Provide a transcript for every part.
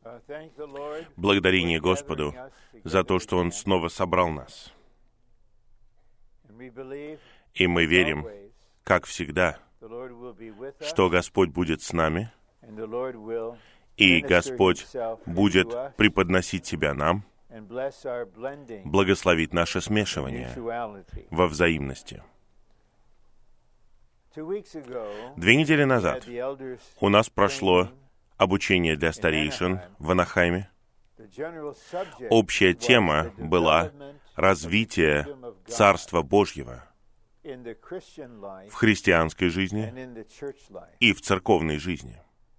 Благодарение Господу за то, что Он снова собрал нас. И мы верим, как всегда, что Господь будет с нами, и Господь будет преподносить Себя нам, благословить наше смешивание во взаимности. 2 недели назад у нас прошло обучение для старейшин в Анахайме. Общая тема была развитие Царства Божьего в христианской жизни и в церковной жизни.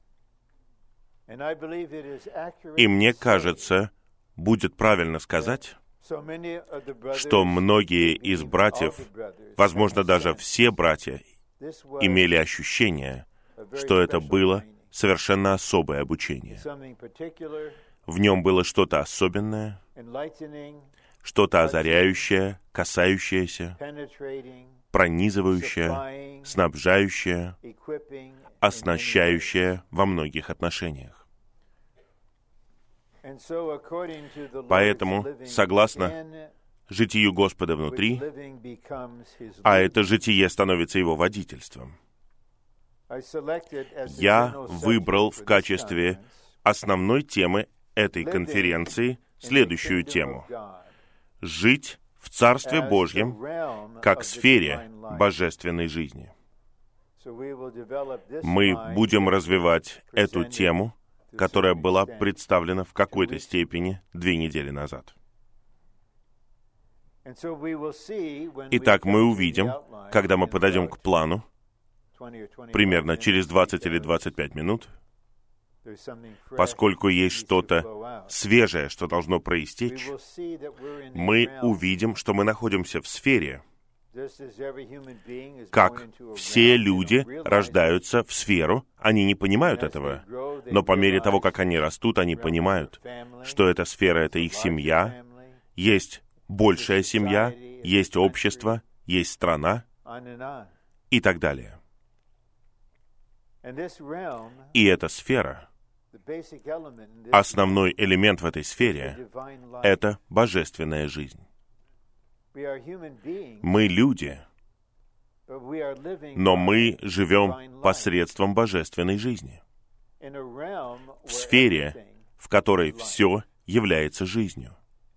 И мне кажется, будет правильно сказать, что многие из братьев, возможно, даже все братья, имели ощущение, что это было совершенно особое обучение. В нем было что-то особенное, что-то озаряющее, касающееся, пронизывающее, снабжающее, оснащающее во многих отношениях. Поэтому, согласно житию Господа внутри, а это житие становится Его водительством, я выбрал в качестве основной темы этой конференции следующую тему: жить в Царстве Божьем как сфере божественной жизни. Мы будем развивать эту тему, которая была представлена в какой-то степени 2 недели назад. Итак, мы увидим, когда мы подойдем к плану, примерно через 20 или 25 минут, поскольку есть что-то свежее, что должно проистечь, мы увидим, что мы находимся в сфере, как все люди рождаются в сферу, они не понимают этого, но по мере того, как они растут, они понимают, что эта сфера — это их семья, есть большая семья, есть общество, есть страна и так далее. И эта сфера, основной элемент в этой сфере — это божественная жизнь. Мы люди, но мы живем посредством божественной жизни, в сфере, в которой все является жизнью.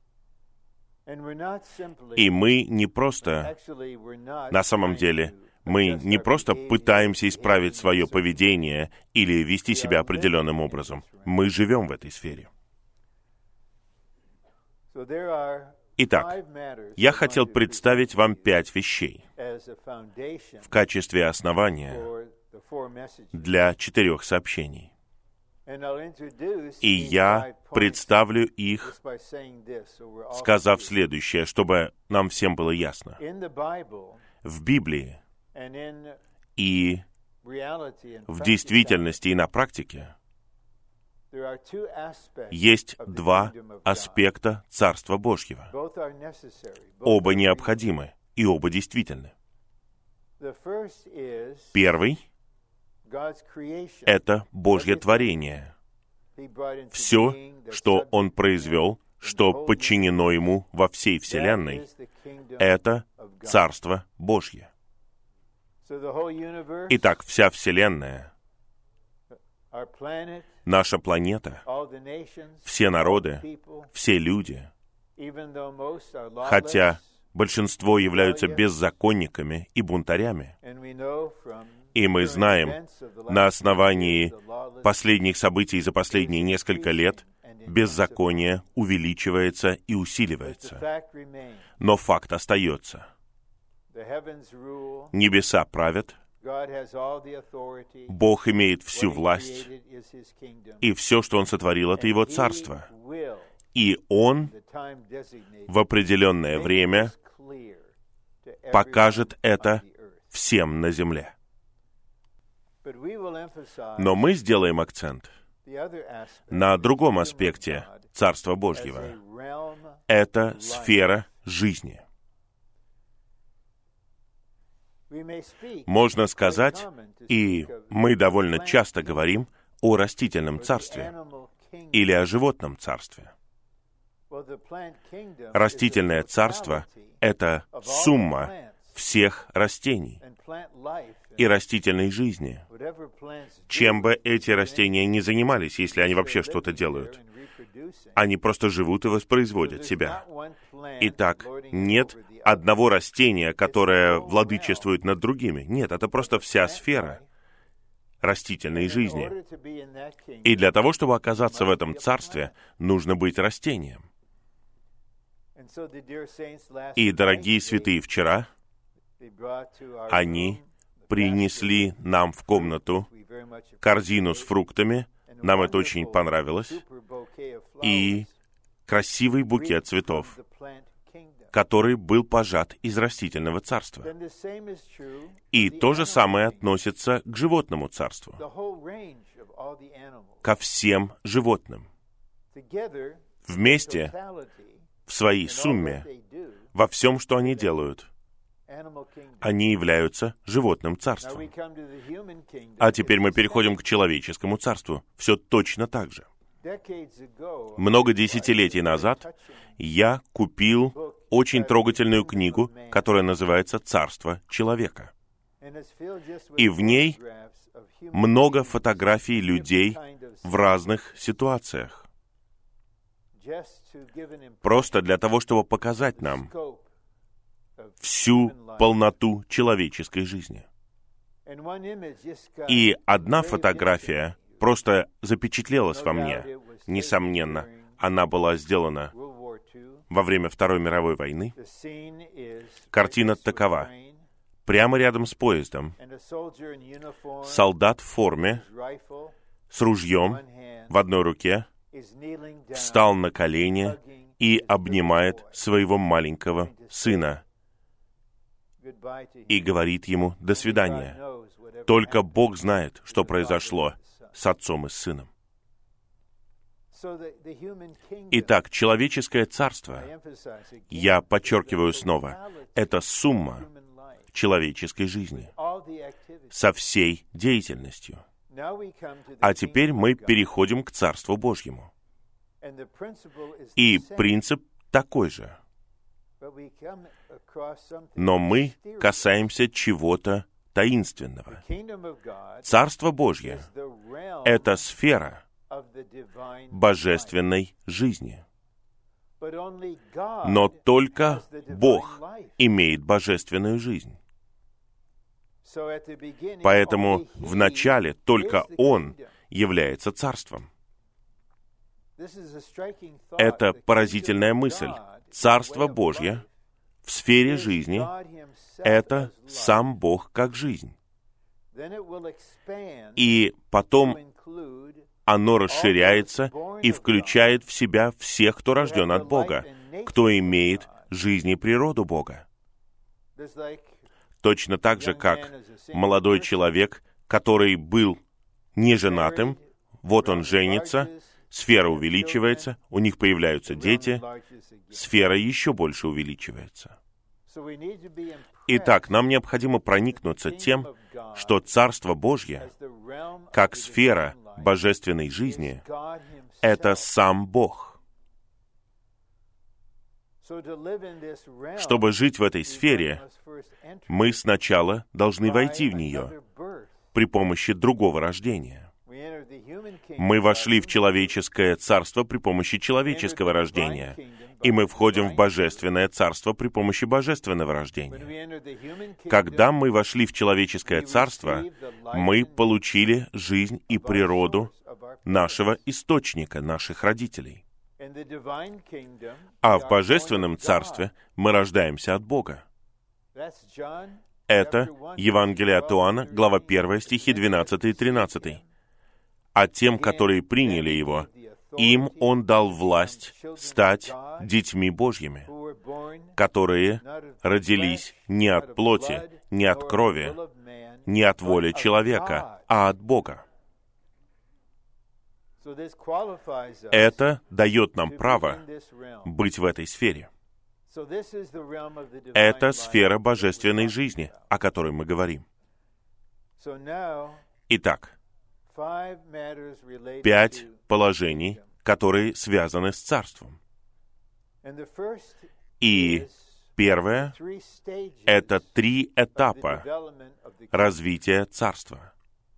И мы не просто, на самом деле, мы не просто пытаемся исправить свое поведение или вести себя определенным образом. Мы живем в этой сфере. Итак, я хотел представить вам 5 вещей в качестве основания для 4 сообщений. И я представлю их, сказав следующее, чтобы нам всем было ясно. В Библии и в действительности и на практике есть 2 аспекта Царства Божьего. Оба необходимы и оба действительны. Первый — это Божье творение. Все, что Он произвел, что подчинено Ему во всей Вселенной, это Царство Божье. Итак, вся Вселенная, наша планета, все народы, все люди, хотя большинство являются беззаконниками и бунтарями, и мы знаем, на основании последних событий за последние несколько лет, беззаконие увеличивается и усиливается. Но факт остается. Небеса правят, Бог имеет всю власть, и все, что Он сотворил, это Его Царство. И Он в определенное время покажет это всем на земле. Но мы сделаем акцент на другом аспекте Царства Божьего. Это сфера жизни. Можно сказать, и мы довольно часто говорим о растительном царстве, или о животном царстве? Растительное царство — это сумма всех растений и растительной жизни. Чем бы эти растения ни занимались, если они вообще что-то делают, они просто живут и воспроизводят себя. Итак, нет одного растения, которое владычествует над другими. Нет, это просто вся сфера растительной жизни. И для того, чтобы оказаться в этом царстве, нужно быть растением. И, дорогие святые, вчера они принесли нам в комнату корзину с фруктами, нам это очень понравилось, и красивый букет цветов, который был пожат из растительного царства. И то же самое относится к животному царству, ко всем животным. Вместе, в своей сумме, во всем, что они делают, они являются животным царством. А теперь мы переходим к человеческому царству. Все точно так же. Много десятилетий назад я купил очень трогательную книгу, которая называется «Царство человека». И в ней много фотографий людей в разных ситуациях. Просто для того, чтобы показать нам всю полноту человеческой жизни. И одна фотография просто запечатлелась во мне. Несомненно, она была сделана во время Второй мировой войны. Картина такова. Прямо рядом с поездом солдат в форме с ружьем в одной руке встал на колени и обнимает своего маленького сына и говорит ему «до свидания». Только Бог знает, что произошло с отцом и с сыном. Итак, человеческое царство, я подчеркиваю снова, это сумма человеческой жизни со всей деятельностью. А теперь мы переходим к Царству Божьему. И принцип такой же. Но мы касаемся чего-то таинственного. Царство Божье — это сфера божественной жизни. Но только Бог имеет божественную жизнь. Поэтому вначале только Он является царством. Это поразительная мысль. Царство Божье в сфере жизни — это сам Бог как жизнь. И потом оно расширяется и включает в себя всех, кто рожден от Бога, кто имеет жизнь и природу Бога. Точно так же, как молодой человек, который был неженатым, вот он женится, сфера увеличивается, у них появляются дети, сфера еще больше увеличивается. Итак, нам необходимо проникнуться тем, что Царство Божье, как сфера божественной жизни, это сам Бог. Чтобы жить в этой сфере, мы сначала должны войти в нее при помощи другого рождения. Мы вошли в человеческое царство при помощи человеческого рождения, и мы входим в божественное царство при помощи божественного рождения. Когда мы вошли в человеческое царство, мы получили жизнь и природу нашего источника, наших родителей. А в божественном царстве мы рождаемся от Бога. Это Евангелие от Иоанна, глава 1, стихи 12 и 13. «А тем, которые приняли Его, им Он дал власть стать детьми Божьими, которые родились не от плоти, не от крови, не от воли человека, а от Бога». Это дает нам право быть в этой сфере. Это сфера божественной жизни, о которой мы говорим. Итак, 5 положений, которые связаны с царством. И первое — это 3 этапа развития царства.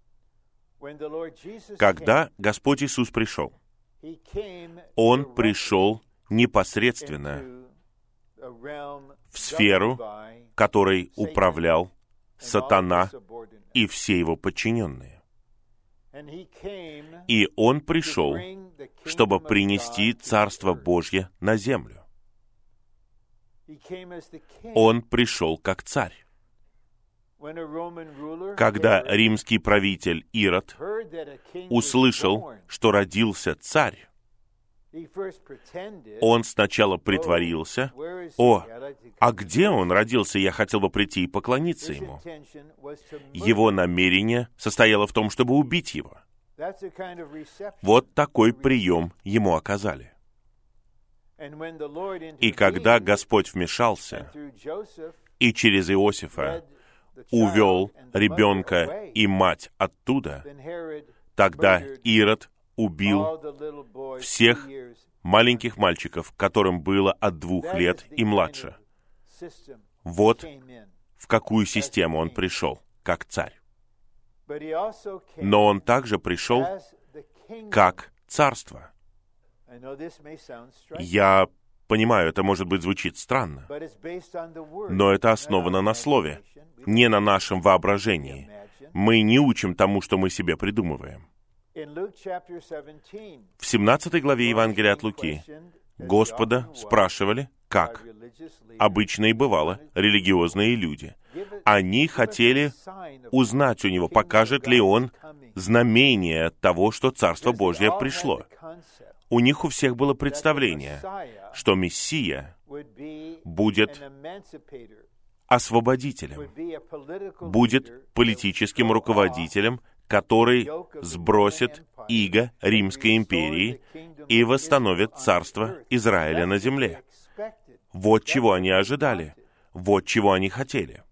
Когда Господь Иисус пришел, Он пришел непосредственно в сферу, которой управлял сатана и все его подчиненные. И Он пришел, чтобы принести Царство Божье на землю. Он пришел как царь. Когда римский правитель Ирод услышал, что родился царь, он сначала притворился: «О, а где он родился? Я хотел бы прийти и поклониться ему». Его намерение состояло в том, чтобы убить его. Вот такой прием ему оказали. И когда Господь вмешался и через Иосифа увел ребенка и мать оттуда, тогда Ирод убил всех маленьких мальчиков, которым было от 2 лет и младше. Вот в какую систему он пришел, как царь. Но он также пришел как царство. Я понимаю, это, может быть, звучит странно, но это основано на Слове, не на нашем воображении. Мы не учим тому, что мы себе придумываем. В 17 главе Евангелия от Луки Господа спрашивали, как обычно и бывало, религиозные люди. Они хотели узнать у Него, покажет ли Он знамение того, что Царство Божье пришло. У них у всех было представление, что Мессия будет освободителем, будет политическим руководителем, который сбросит иго Римской империи и восстановит царство Израиля на земле. Вот чего они ожидали, вот чего они хотели.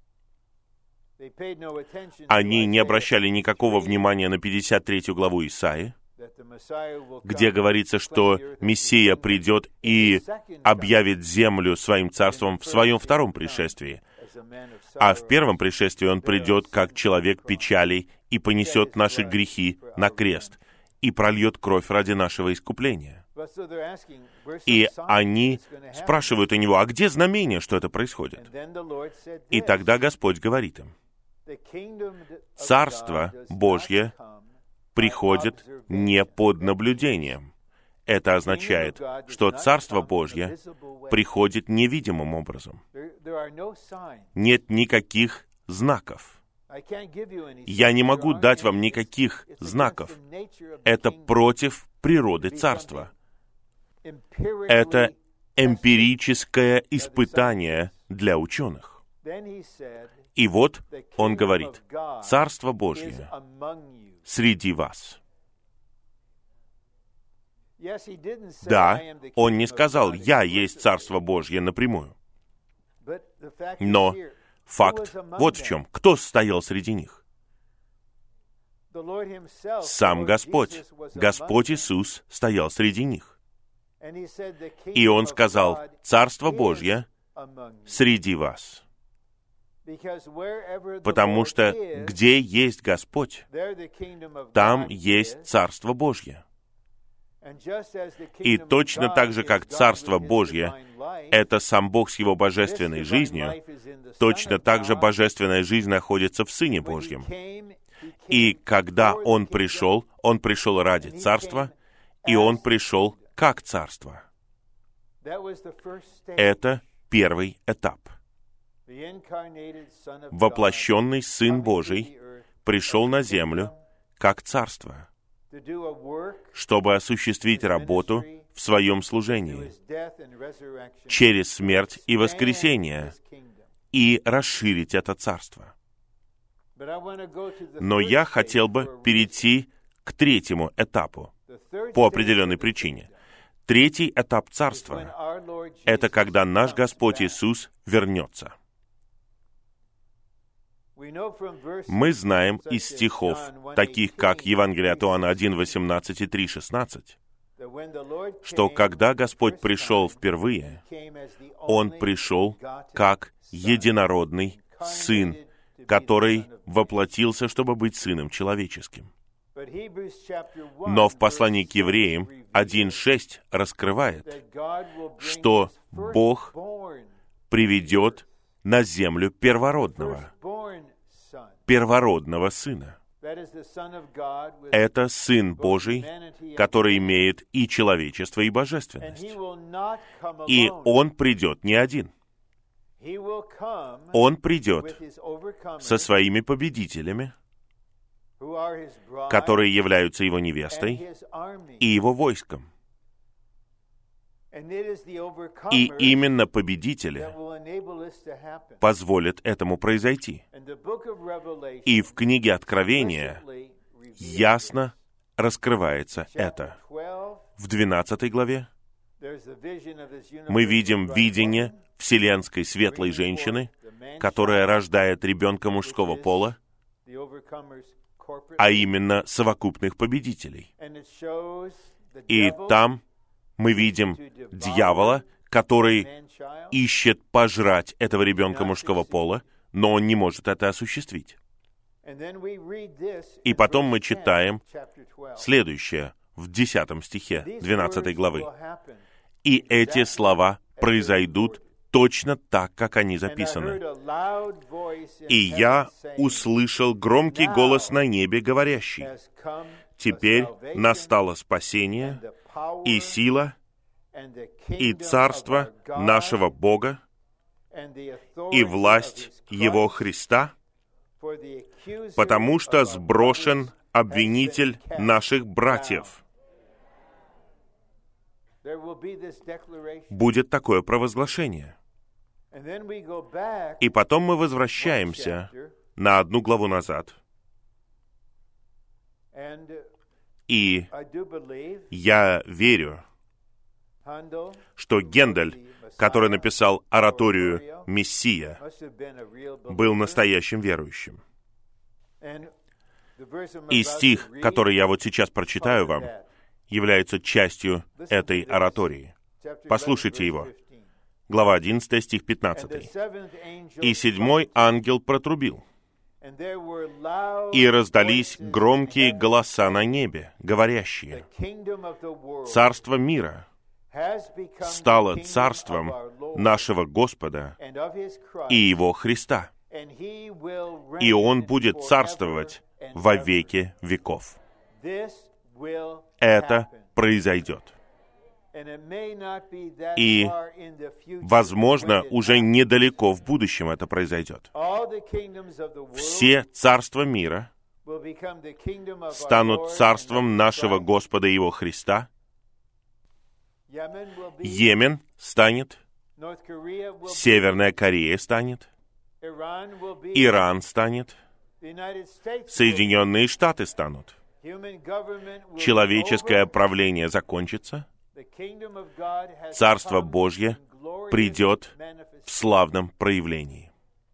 Они не обращали никакого внимания на 53 главу Исаии, где говорится, что Мессия придет и объявит землю своим царством в своем 2-м пришествии. А в 1-м пришествии Он придет как человек печалей и понесет наши грехи на крест и прольет кровь ради нашего искупления. И они спрашивают у Него, а где знамение, что это происходит? И тогда Господь говорит им: Царство Божье приходит не под наблюдением. Это означает, что Царство Божье приходит невидимым образом. Нет никаких знаков. Я не могу дать вам никаких знаков. Это против природы Царства. Это эмпирическое испытание для ученых. И вот Он говорит: Царство Божье среди вас. Да, Он не сказал: «Я есть Царство Божье» напрямую. Но факт вот в чем. Кто стоял среди них? Сам Господь. Господь Иисус стоял среди них. И Он сказал: «Царство Божье среди вас». Потому что где есть Господь, там есть Царство Божье. И точно так же, как Царство Божье — это сам Бог с Его божественной жизнью, точно так же божественная жизнь находится в Сыне Божьем. И когда Он пришел ради Царства, и Он пришел как Царство. Это первый этап. Воплощенный Сын Божий пришел на землю как Царство, чтобы осуществить работу в Своем служении через смерть и воскресение и расширить это Царство. Но я хотел бы перейти к 3-му этапу по определенной причине. 3-й этап Царства — это когда наш Господь Иисус вернется. Мы знаем из стихов, таких как Евангелие от Иоанна 1:18 и 3:16, что когда Господь пришел впервые, Он пришел как единородный Сын, который воплотился, чтобы быть Сыном человеческим. Но в послании к Евреям 1:6 раскрывает, что Бог приведет на землю первородного Сына. Это Сын Божий, который имеет и человечество, и божественность. И Он придет не один. Он придет со своими победителями, которые являются Его невестой, и Его войском. И именно победители позволят этому произойти. И в книге Откровения ясно раскрывается это. В 12 главе мы видим видение вселенской светлой женщины, которая рождает ребенка мужского пола, а именно совокупных победителей. И там мы видим дьявола, который ищет пожрать этого ребенка мужского пола, но он не может это осуществить. И потом мы читаем следующее в 10 стихе 12 главы. «И эти слова произойдут точно так, как они записаны. И я услышал громкий голос на небе, говорящий: теперь настало спасение, и сила, и царство нашего Бога, и власть Его Христа, потому что сброшен обвинитель наших братьев». Будет такое провозглашение. И потом мы возвращаемся на 1 главу назад. И я верю, что Гендель, который написал ораторию «Мессия», был настоящим верующим. И стих, который я вот сейчас прочитаю вам, является частью этой оратории. Послушайте его. Глава 11, стих 15. «И 7-й ангел протрубил, и раздались громкие голоса на небе, говорящие: царство мира стало царством нашего Господа и Его Христа, и Он будет царствовать во веки веков». Это произойдет. И, возможно, уже недалеко в будущем это произойдет. Все царства мира станут царством нашего Господа и Его Христа. Йемен станет, Северная Корея станет, Иран станет, Соединенные Штаты станут. Человеческое правление закончится, Царство Божье придет в славном проявлении.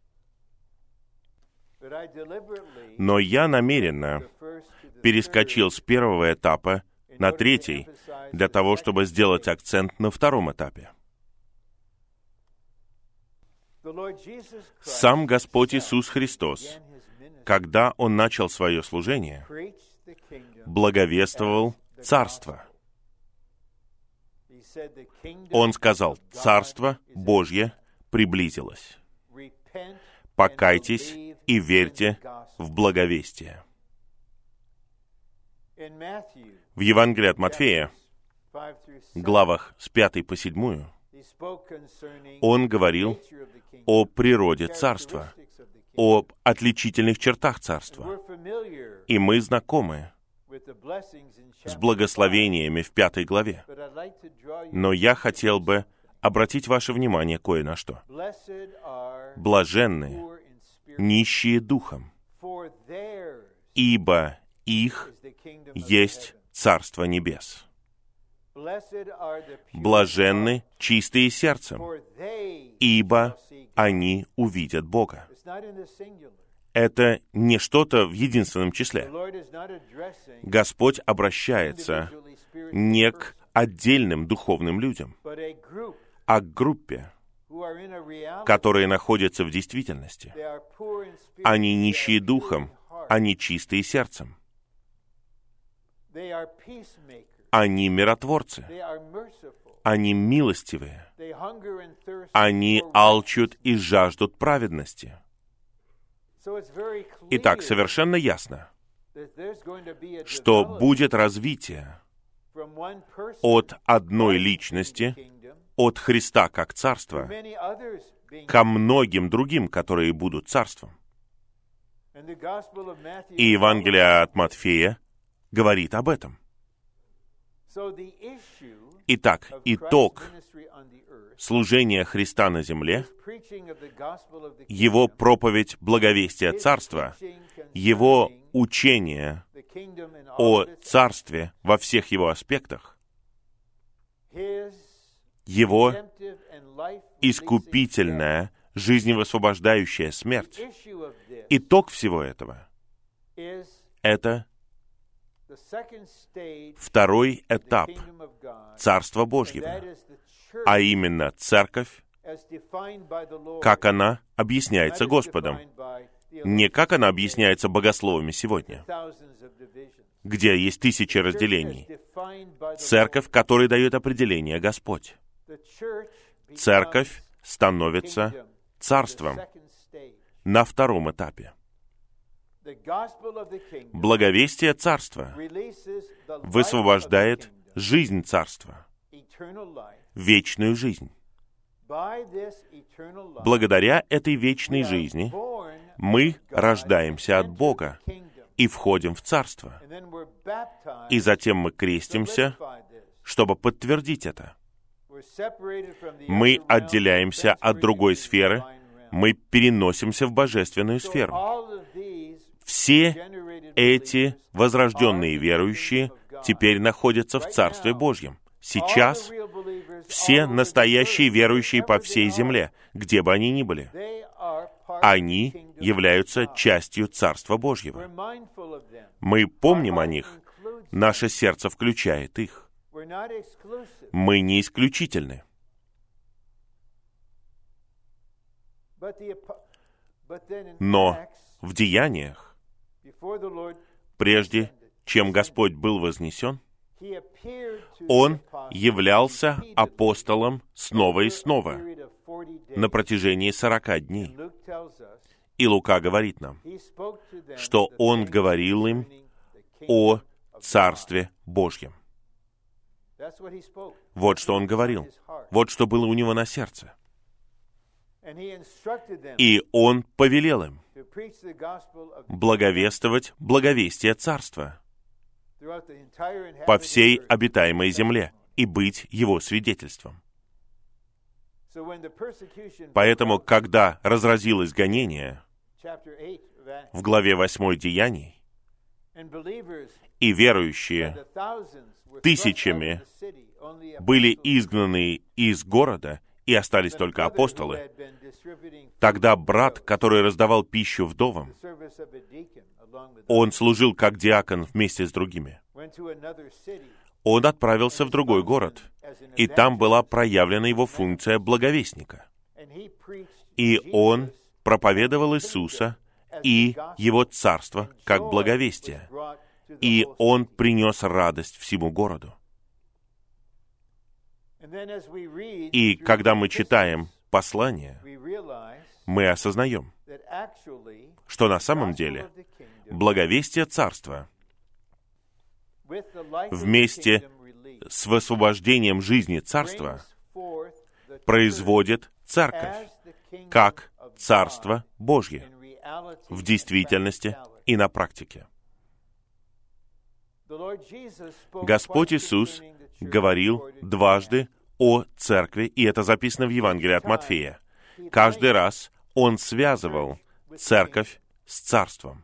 Но я намеренно перескочил с первого этапа на третий, для того, чтобы сделать акцент на втором этапе. Сам Господь Иисус Христос, когда Он начал свое служение, благовествовал Царство. Он сказал: «Царство Божье приблизилось. Покайтесь и верьте в благовестие». В Евангелии от Матфея, главах с 5 по 7, Он говорил о природе Царства, об отличительных чертах Царства. И мы знакомы с благословениями в 5 главе. Но я хотел бы обратить ваше внимание кое на что. Блаженны нищие духом, ибо их есть Царство Небес. Блаженны чистые сердцем, ибо они увидят Бога. Это не что-то в единственном числе. Господь обращается не к отдельным духовным людям, а к группе, которые находятся в действительности. Они нищие духом, они чистые сердцем. Они миротворцы. Они милостивые. Они алчут и жаждут праведности. Итак, совершенно ясно, что будет развитие от одной личности, от Христа как царства, ко многим другим, которые будут царством. И Евангелие от Матфея говорит об этом. Итак, итог служения Христа на земле, Его проповедь благовестия Царства, Его учение о Царстве во всех Его аспектах, Его искупительная, жизневосвобождающая смерть. Итог всего этого — это второй этап Царства Божьего, а именно Церковь, как она объясняется Господом, не как она объясняется богословами сегодня, где есть тысячи разделений. Церковь, которой дает определение Господь. Церковь становится царством на втором этапе. Благовестие Царства высвобождает жизнь Царства, вечную жизнь. Благодаря этой вечной жизни мы рождаемся от Бога и входим в Царство. И затем мы крестимся, чтобы подтвердить это. Мы отделяемся от другой сферы, мы переносимся в божественную сферу. Все эти возрожденные верующие теперь находятся в Царстве Божьем. Сейчас все настоящие верующие по всей земле, где бы они ни были, они являются частью Царства Божьего. Мы помним о них, наше сердце включает их. Мы не исключительны. Но в Деяниях, прежде чем Господь был вознесен, Он являлся апостолом снова и снова на протяжении 40 дней. И Лука говорит нам, что Он говорил им о Царстве Божьем. Вот что Он говорил. Вот что было у Него на сердце. И Он повелел им благовествовать благовестие Царства по всей обитаемой земле и быть Его свидетельством. Поэтому, когда разразилось гонение в главе 8 Деяний, и верующие тысячами были изгнаны из города, и остались только апостолы, тогда брат, который раздавал пищу вдовам, он служил как диакон вместе с другими. Он отправился в другой город, и там была проявлена его функция благовестника. И он проповедовал Иисуса и Его Царство как благовестие. И он принес радость всему городу. И когда мы читаем послание, мы осознаем, что на самом деле благовестие Царства вместе с высвобождением жизни Царства производит Церковь как Царство Божье в действительности и на практике. Господь Иисус говорил дважды о Церкви, и это записано в Евангелии от Матфея. Каждый раз Он связывал Церковь с Царством.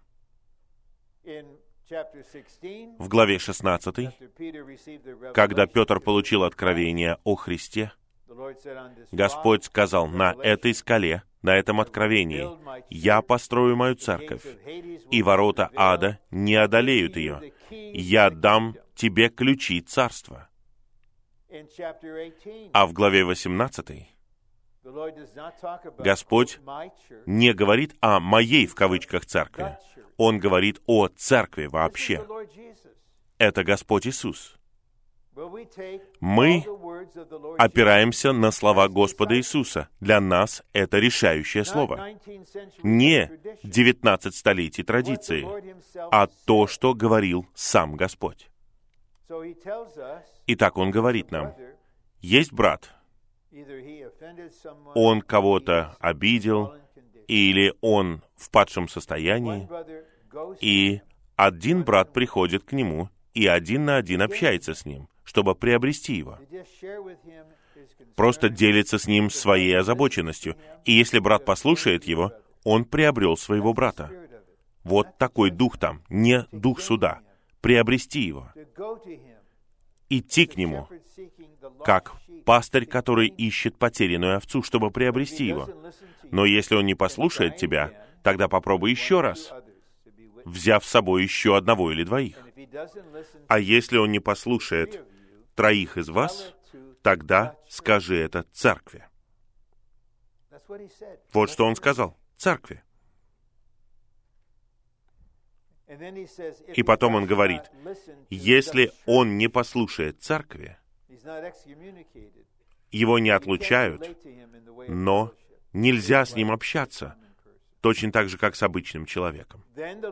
В главе 16, когда Петр получил откровение о Христе, Господь сказал: «На этой скале, на этом откровении, я построю мою церковь, и ворота ада не одолеют ее. Я дам тебе ключи царства». А в главе 18 Господь не говорит о «моей» в кавычках церкви. Он говорит о церкви вообще. Это Господь Иисус. Мы опираемся на слова Господа Иисуса. Для нас это решающее слово. Не 19 столетий традиции, а то, что говорил сам Господь. Итак, Он говорит нам, есть брат, он кого-то обидел, или он в падшем состоянии, и один брат приходит к нему, и один на один общается с ним, чтобы приобрести его. Просто делится с ним своей озабоченностью. И если брат послушает его, он приобрел своего брата. Вот такой дух там, не дух суда. Приобрести его. Идти к нему, как пастырь, который ищет потерянную овцу, чтобы приобрести его. Но если он не послушает тебя, тогда попробуй еще раз, взяв с собой еще одного или двоих. А если он не послушает троих из вас, тогда скажи это церкви. Вот что он сказал. Церкви. И потом он говорит, если он не послушает церкви, его не отлучают, но нельзя с ним общаться, точно так же, как с обычным человеком.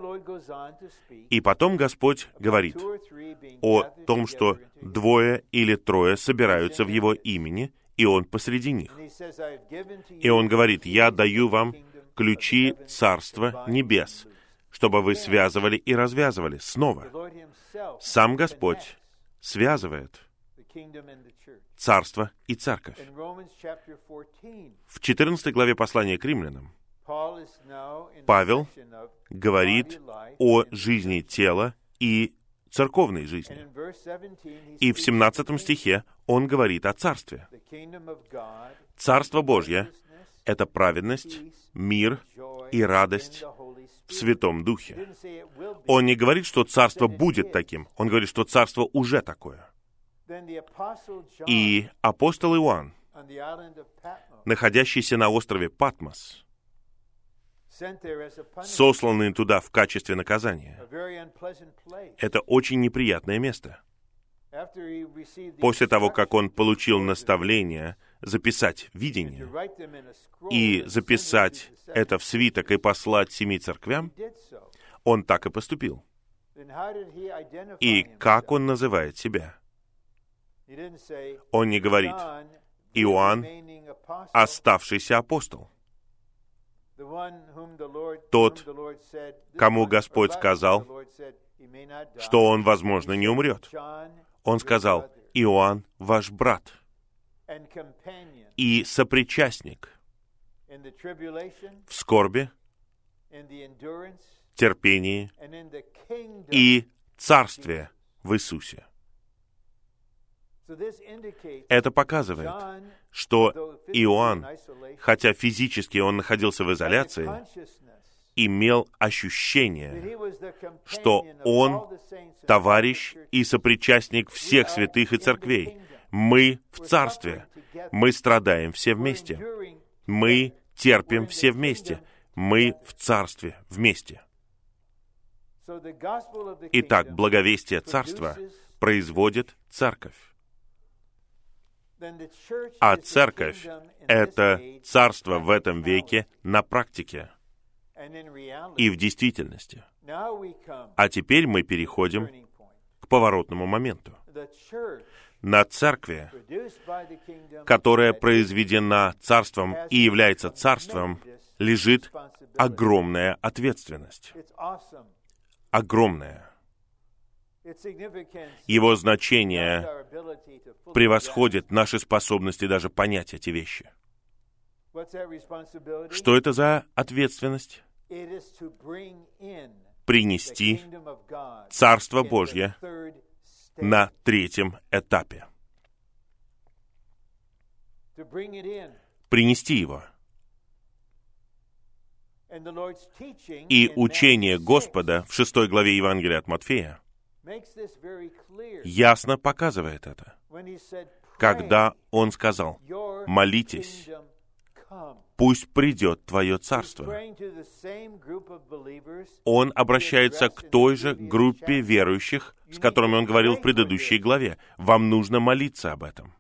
И потом Господь говорит о том, что 2 или 3 собираются в Его имени, и Он посреди них. И Он говорит, «Я даю вам ключи Царства Небес, чтобы вы связывали и развязывали». Снова. Сам Господь связывает Царство и Церковь. В 14 главе послания к римлянам Павел говорит о жизни тела и церковной жизни. И в 17 стихе он говорит о Царстве. Царство Божье — это праведность, мир и радость в Святом Духе. Он не говорит, что Царство будет таким. Он говорит, что Царство уже такое. И апостол Иоанн, находящийся на острове Патмос, сосланный туда в качестве наказания. Это очень неприятное место. После того, как он получил наставление записать видение и записать это в свиток и послать 7 церквям, он так и поступил. И как он называет себя? Он не говорит «Иоанн, оставшийся апостол». Тот, кому Господь сказал, что он, возможно, не умрет. Он сказал, Иоанн, ваш брат и сопричастник в скорби, терпении и царстве в Иисусе. Это показывает, что Иоанн, хотя физически он находился в изоляции, имел ощущение, что он товарищ и сопричастник всех святых и церквей. Мы в царстве. Мы страдаем все вместе. Мы терпим все вместе. Мы в царстве вместе. Итак, благовестие царства производит церковь. А церковь — это царство в этом веке на практике и в действительности. А теперь мы переходим к поворотному моменту. На церкви, которая произведена царством и является царством, лежит огромная ответственность. Огромная. Его значение превосходит наши способности даже понять эти вещи. Что это за ответственность? Принести Царство Божье на 3-м этапе. Принести его. И учение Господа в 6 главе Евангелия от Матфея ясно показывает это, когда Он сказал: «Молитесь, пусть придет Твое Царство». Он обращается к той же группе верующих, с которыми Он говорил в предыдущей главе. Вам нужно молиться об этом.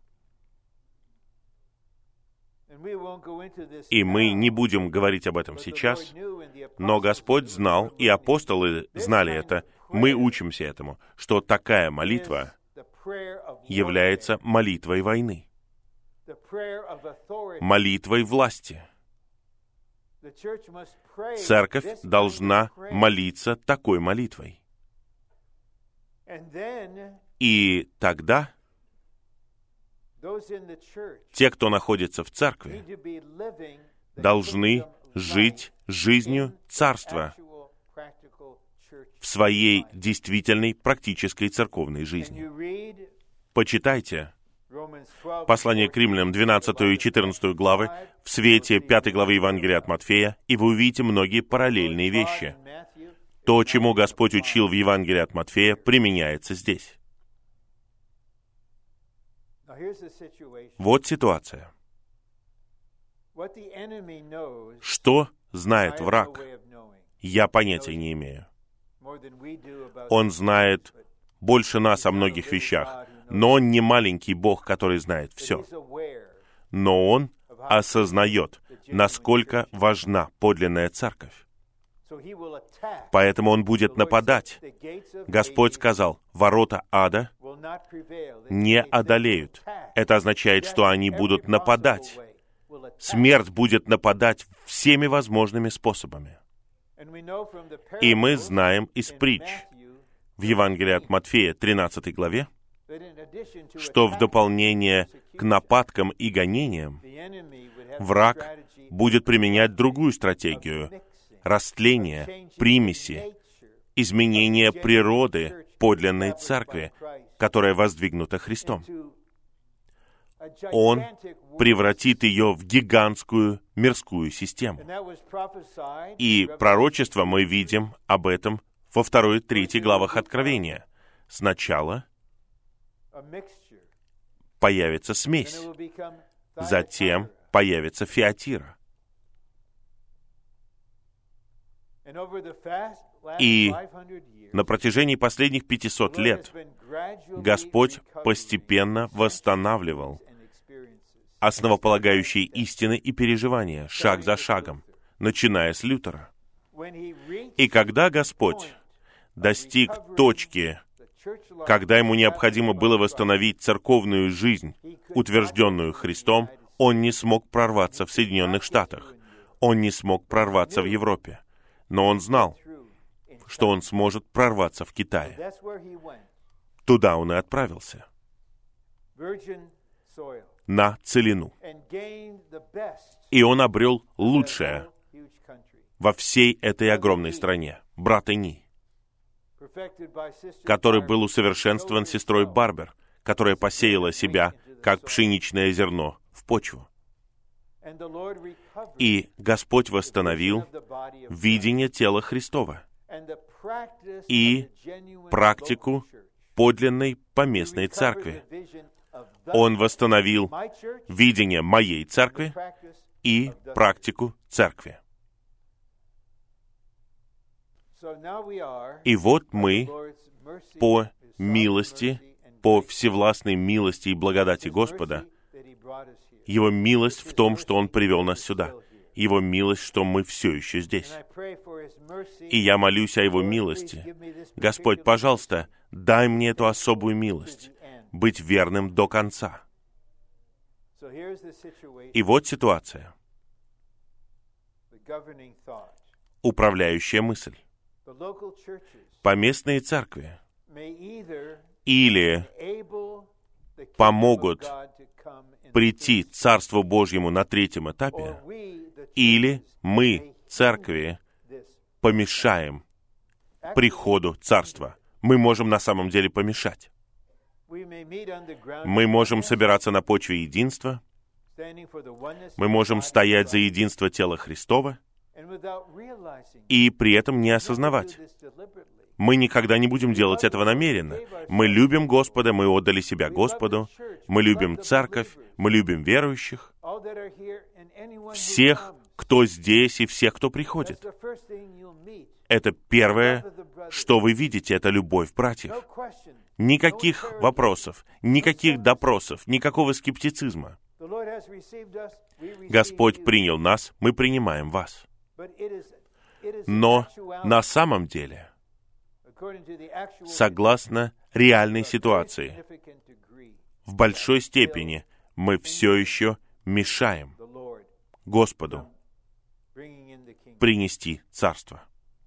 И мы не будем говорить об этом сейчас, но Господь знал, и апостолы знали это, мы учимся этому, что такая молитва является молитвой войны, молитвой власти. Церковь должна молиться такой молитвой. И тогда те, кто находится в церкви, должны жить жизнью Царства в своей действительной практической церковной жизни. Почитайте послание к Римлянам, 12 и 14 главы, в свете 5 главы Евангелия от Матфея, и вы увидите многие параллельные вещи. То, чему Господь учил в Евангелии от Матфея, применяется здесь. Вот ситуация. Что знает враг? Я понятия не имею. Он знает больше нас о многих вещах, но Он не маленький Бог, который знает все. Но Он осознает, насколько важна подлинная церковь. Поэтому Он будет нападать. Господь сказал: «Ворота ада не одолеют». Это означает, что они будут нападать. Смерть будет нападать всеми возможными способами. И мы знаем из притч в Евангелии от Матфея, 13 главе, что в дополнение к нападкам и гонениям враг будет применять другую стратегию — растление, примеси, изменение природы подлинной церкви, которая воздвигнута Христом. Он превратит ее в гигантскую мирскую систему. И пророчество мы видим об этом во 2 и 3 главах Откровения. Сначала появится смесь, затем появится Фиатира. И на протяжении последних 500 лет Господь постепенно восстанавливал основополагающие истины и переживания, шаг за шагом, начиная с Лютера. И когда Господь достиг точки, когда Ему необходимо было восстановить церковную жизнь, утвержденную Христом, Он не смог прорваться в Соединенных Штатах, Он не смог прорваться в Европе. Но Он знал, что Он сможет прорваться в Китае. Туда Он и отправился, на целину. И Он обрел лучшее во всей этой огромной стране, брат Эни, который был усовершенствован сестрой Барбер, которая посеяла себя, как пшеничное зерно, в почву. И Господь восстановил видение тела Христова и практику подлинной поместной церкви. Он восстановил видение моей церкви и практику церкви. И вот мы по милости, по всевластной милости и благодати Господа, Его милость в том, что Он привел нас сюда. Его милость, что мы все еще здесь. И я молюсь о Его милости. Господь, пожалуйста, дай мне эту особую милость, быть верным до конца. И вот ситуация. Управляющая мысль. Поместные церкви или помогут прийти Царству Божьему на 3-м этапе, или мы, церкви, помешаем приходу Царства. Мы можем на самом деле помешать. Мы можем собираться на почве единства, мы можем стоять за единство тела Христова и при этом не осознавать. Мы никогда не будем делать этого намеренно. Мы любим Господа, мы отдали себя Господу, мы любим церковь, мы любим верующих, всех, кто здесь, и всех, кто приходит. Это первое, что вы видите, это любовь братьев. Никаких вопросов, никаких допросов, никакого скептицизма. Господь принял нас, мы принимаем вас. Но на самом деле, согласно реальной ситуации, в большой степени мы все еще мешаем Господу принести царство.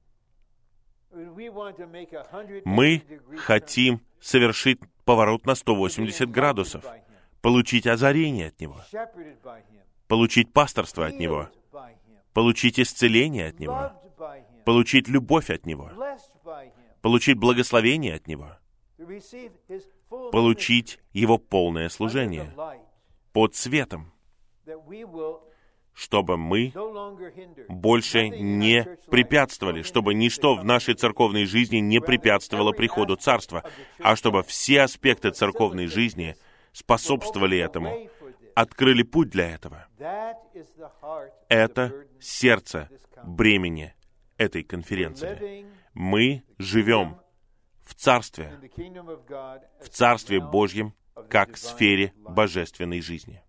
Мы хотим совершить поворот на 180 градусов, получить озарение от Него, получить пасторство от Него, получить исцеление от Него, получить любовь от Него, получить благословение от Него, получить Его полное служение под светом, чтобы мы больше не препятствовали, чтобы ничто в нашей церковной жизни не препятствовало приходу Царства, а чтобы все аспекты церковной жизни способствовали этому, открыли путь для этого. Это сердце бремени этой конференции. Мы живем в Царстве Божьем, как в сфере божественной жизни.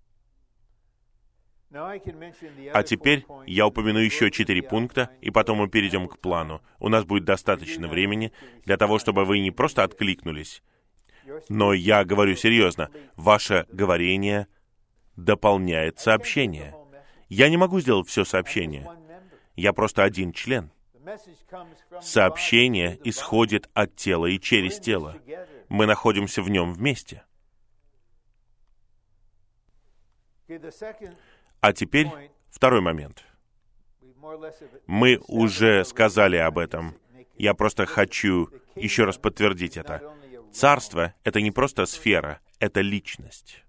А теперь я упомяну еще 4 пункта, и потом мы перейдем к плану. У нас будет достаточно времени для того, чтобы вы не просто откликнулись, но я говорю серьезно, ваше говорение дополняет сообщение. Я не могу сделать все сообщение. Я просто один член. Сообщение исходит от тела и через тело. Мы находимся в нем вместе. А теперь второй момент. Мы уже сказали об этом. Я просто хочу еще раз подтвердить это. Царство — это не просто сфера, это личность.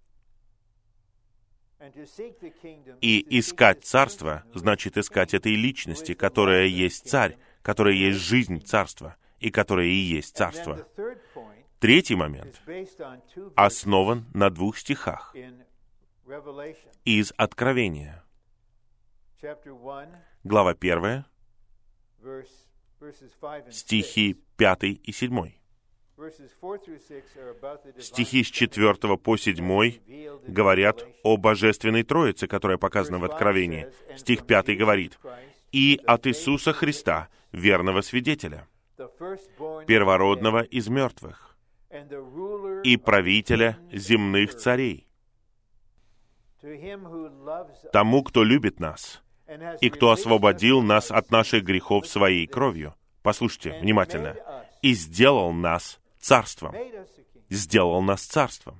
И искать царство значит искать этой личности, которая есть царь, которая есть жизнь царства, и которая и есть царство. Третий момент основан на 2 стихах из Откровения. Глава 1, стихи 5 и 7. Стихи с 4 по 7 говорят о Божественной Троице, которая показана в Откровении. Стих 5 говорит: «И от Иисуса Христа, верного свидетеля, первородного из мертвых, и правителя земных царей, тому, кто любит нас, и кто освободил нас от наших грехов своей кровью». Послушайте внимательно. «И сделал нас царством». Сделал нас царством.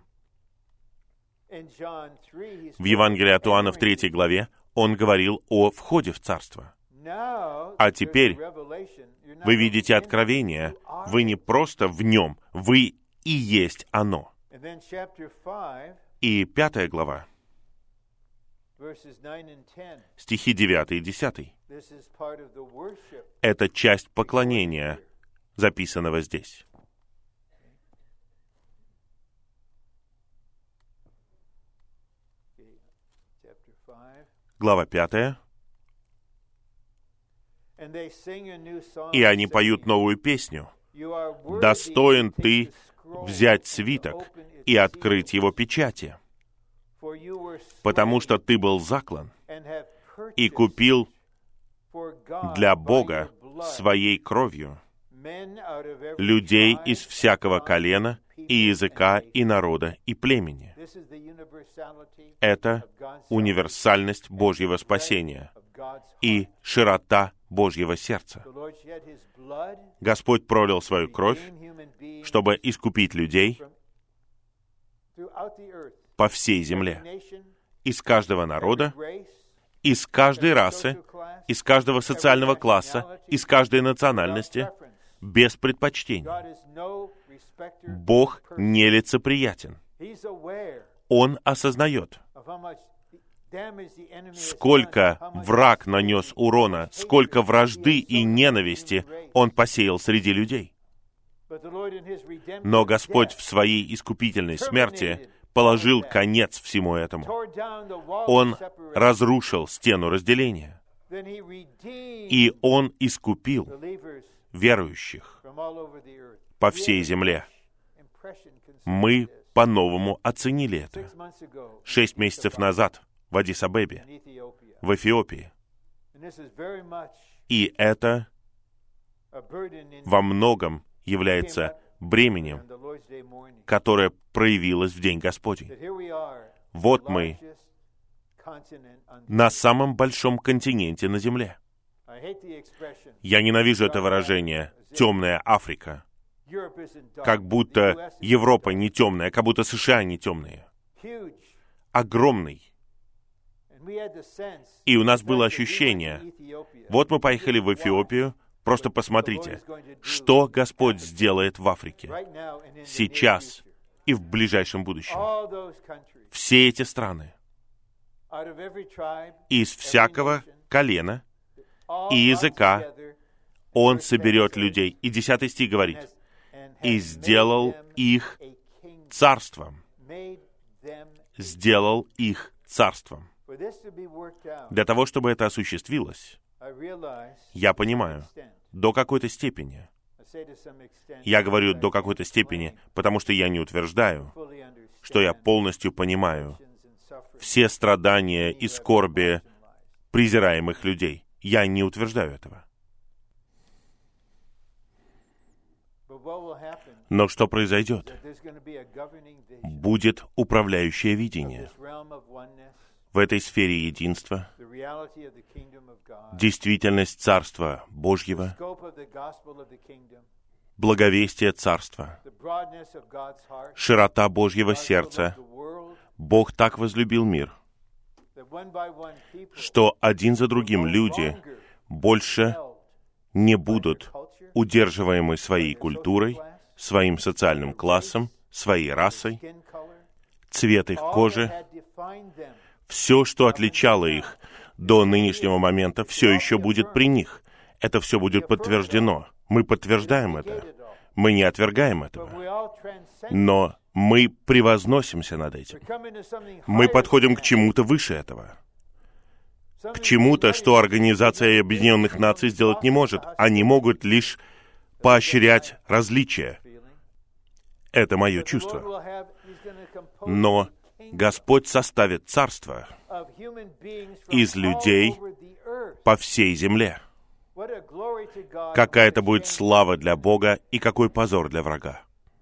В Евангелии от Иоанна в 3 главе он говорил о входе в царство. А теперь вы видите откровение. Вы не просто в нем, вы и есть оно. И 5 глава, стихи 9 и 10. Это часть поклонения, записанного здесь. Глава 5. «И они поют новую песню. Достоин ты взять свиток и открыть его печати, потому что ты был заклан и купил для Бога своей кровью людей из всякого колена и языка, и народа, и племени». Это универсальность Божьего спасения и широта Божьего сердца. Господь пролил свою кровь, чтобы искупить людей по всей земле, из каждого народа, из каждой расы, из каждого социального класса, из каждой национальности, без предпочтений. Бог нелицеприятен. Он осознает, сколько враг нанес урона, сколько вражды и ненависти он посеял среди людей. Но Господь в своей искупительной смерти положил конец всему этому. Он разрушил стену разделения. И Он искупил верующих по всей земле. Мы по-новому оценили это. 6 месяцев назад в Аддис-Абебе, в Эфиопии. И это во многом является бременем, которое проявилось в День Господень. Вот мы на самом большом континенте на Земле. Я ненавижу это выражение «темная Африка», как будто Европа не темная, как будто США не темные. Огромный. И у нас было ощущение, вот мы поехали в Эфиопию, просто посмотрите, что Господь сделает в Африке сейчас и в ближайшем будущем. Все эти страны, из всякого колена и языка Он соберет людей. И 10 стих говорит, «И сделал их царством». Сделал их царством. Для того, чтобы это осуществилось, я понимаю, до какой-то степени. Я говорю «до какой-то степени», потому что я не утверждаю, что я полностью понимаю все страдания и скорби презираемых людей. Я не утверждаю этого. Но что произойдет? Будет управляющее видение. В этой сфере единства, действительность Царства Божьего, благовестие Царства, широта Божьего сердца. Бог так возлюбил мир, что один за другим люди больше не будут удерживаемы своей культурой, своим социальным классом, своей расой, цвет их кожи. Все, что отличало их до нынешнего момента, все еще будет при них. Это все будет подтверждено. Мы подтверждаем это. Мы не отвергаем этого. Но мы превозносимся над этим. Мы подходим к чему-то выше этого. К чему-то, что Организация Объединенных Наций сделать не может. Они могут лишь поощрять различия. Это мое чувство. Но Господь составит царство из людей по всей земле. Какая это будет слава для Бога и какой позор для врага.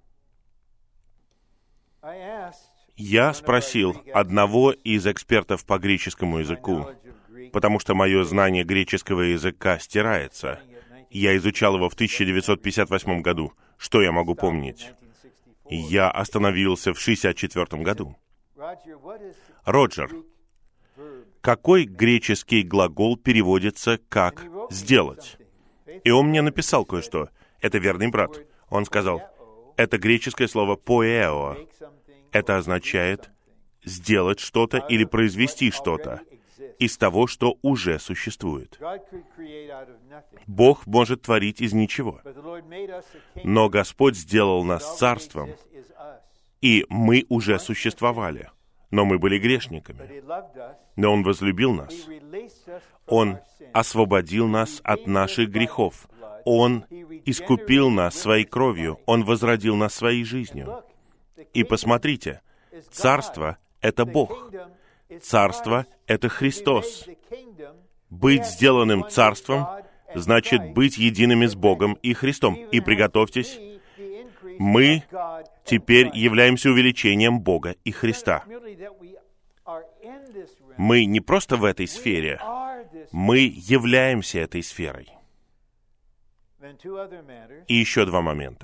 Я спросил одного из экспертов по греческому языку, потому что мое знание греческого языка стирается. Я изучал его в 1958 году. Что я могу помнить? Я остановился в 1964 году. Роджер, какой греческий глагол переводится как «сделать»? И он мне написал кое-что. Это верный брат. Он сказал, это греческое слово «поэо». Это означает сделать что-то или произвести что-то из того, что уже существует. Бог может творить из ничего. Но Господь сделал нас царством, и мы уже существовали. Но мы были грешниками. Но Он возлюбил нас. Он освободил нас от наших грехов. Он искупил нас своей кровью. Он возродил нас своей жизнью. И посмотрите, царство — это Бог. Царство — это Христос. Быть сделанным царством значит быть едиными с Богом и Христом. И приготовьтесь, мы теперь являемся увеличением Бога и Христа. Мы не просто в этой сфере, мы являемся этой сферой. И еще 2 момента.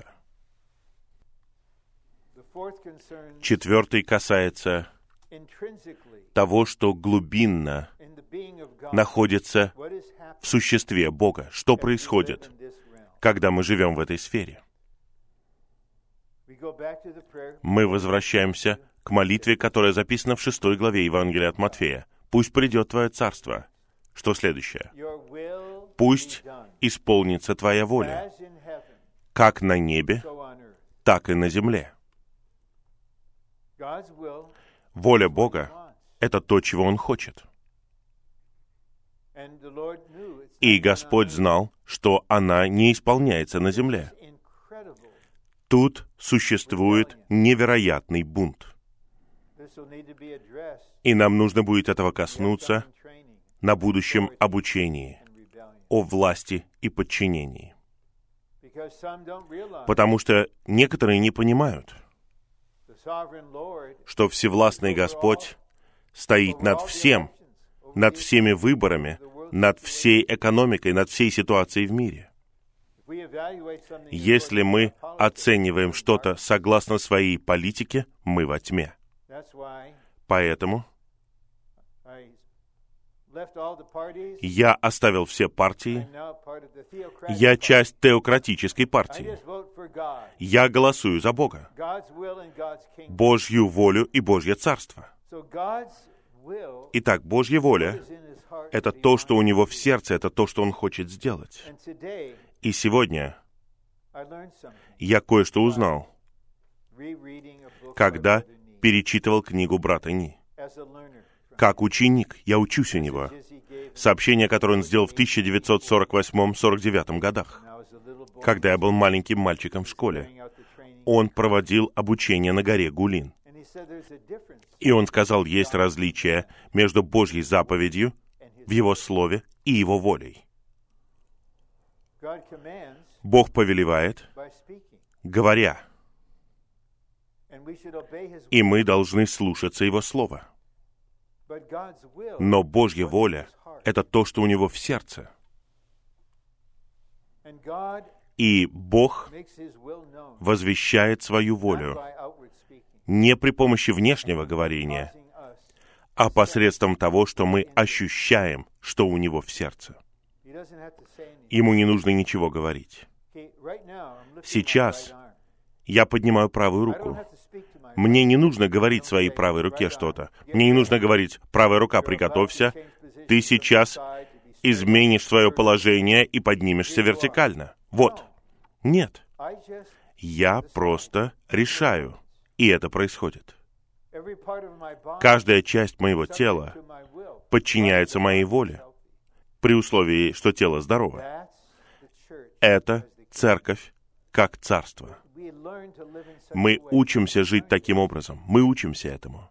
4 касается того, что глубинно находится в существе Бога. Что происходит, когда мы живем в этой сфере? Мы возвращаемся к молитве, которая записана в 6 главе Евангелия от Матфея. Пусть придет Твое Царство. Что следующее? Пусть исполнится Твоя воля, как на небе, так и на земле. Воля Бога — это то, чего Он хочет. И Господь знал, что она не исполняется на земле. Тут существует невероятный бунт. И нам нужно будет этого коснуться на будущем обучении о власти и подчинении. Потому что некоторые не понимают, что Всевластный Господь стоит над всем, над всеми выборами, над всей экономикой, над всей ситуацией в мире. Если мы оцениваем что-то согласно своей политике, мы во тьме. Поэтому я оставил все партии. Я часть теократической партии. Я голосую за Бога, Божью волю и Божье Царство. Итак, Божья воля — это то, что у Него в сердце, это то, что Он хочет сделать. И сегодня я кое-что узнал, когда перечитывал книгу брата Ни. Как ученик, я учусь у него. Сообщение, которое он сделал в 1948-49 годах, когда я был маленьким мальчиком в школе. Он проводил обучение на горе Гулин. И он сказал, есть различие между Божьей заповедью в Его Слове и Его волей. Бог повелевает, говоря, и мы должны слушаться Его Слова. Но Божья воля — это то, что у Него в сердце. И Бог возвещает свою волю не при помощи внешнего говорения, а посредством того, что мы ощущаем, что у Него в сердце. Ему не нужно ничего говорить. Сейчас я поднимаю правую руку. Мне не нужно говорить своей правой руке что-то. Мне не нужно говорить, правая рука, приготовься, ты сейчас изменишь свое положение и поднимешься вертикально. Вот. Нет. Я просто решаю, и это происходит. Каждая часть моего тела подчиняется моей воле, при условии, что тело здорово. Это церковь как царство. Мы учимся жить таким образом. Мы учимся этому.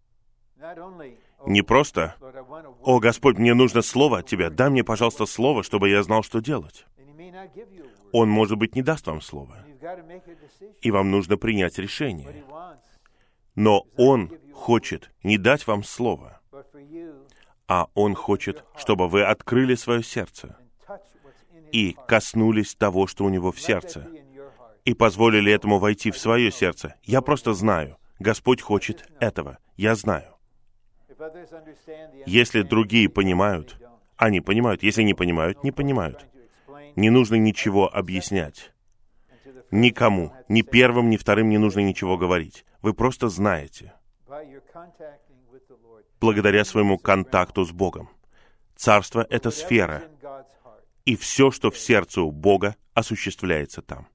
Не просто, «О, Господь, мне нужно слово от Тебя. Дай мне, пожалуйста, слово, чтобы я знал, что делать». Он, может быть, не даст вам слово. И вам нужно принять решение. Но Он хочет не дать вам слово, а Он хочет, чтобы вы открыли свое сердце и коснулись того, что у Него в сердце, и позволили этому войти в свое сердце. Я просто знаю. Господь хочет этого. Я знаю. Если другие понимают, они понимают. Если не понимают, не понимают. Не нужно ничего объяснять. Никому, ни первым, ни вторым не нужно ничего говорить. Вы просто знаете. Благодаря своему контакту с Богом. Царство — это сфера. И все, что в сердце у Бога, осуществляется там.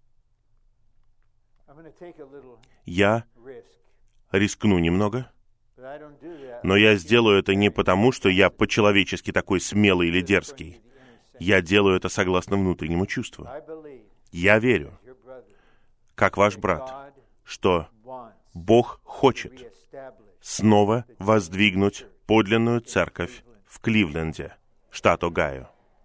Я рискну немного, но я сделаю это не потому, что я по-человечески такой смелый или дерзкий. Я делаю это согласно внутреннему чувству. Я верю, как ваш брат, что Бог хочет снова воздвигнуть подлинную церковь в Кливленде, штат Огайо.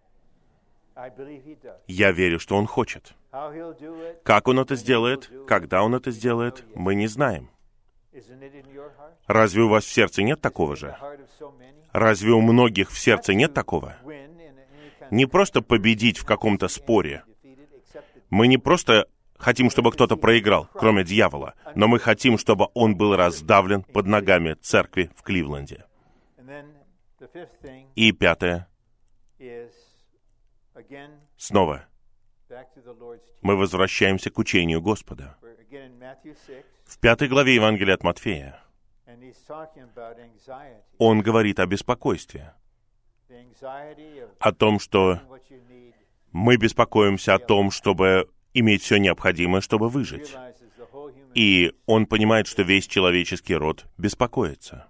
Я верю, что Он хочет. Как Он это сделает, когда Он это сделает, мы не знаем. Разве у вас в сердце нет такого же? Разве у многих в сердце нет такого? Не просто победить в каком-то споре. Мы не просто хотим, чтобы кто-то проиграл, кроме дьявола, но мы хотим, чтобы он был раздавлен под ногами церкви в Кливленде. И пятое. Снова мы возвращаемся к учению Господа. В 5 главе Евангелия от Матфея Он говорит о беспокойстве, о том, что мы беспокоимся о том, чтобы иметь все необходимое, чтобы выжить. И он понимает, что весь человеческий род беспокоится.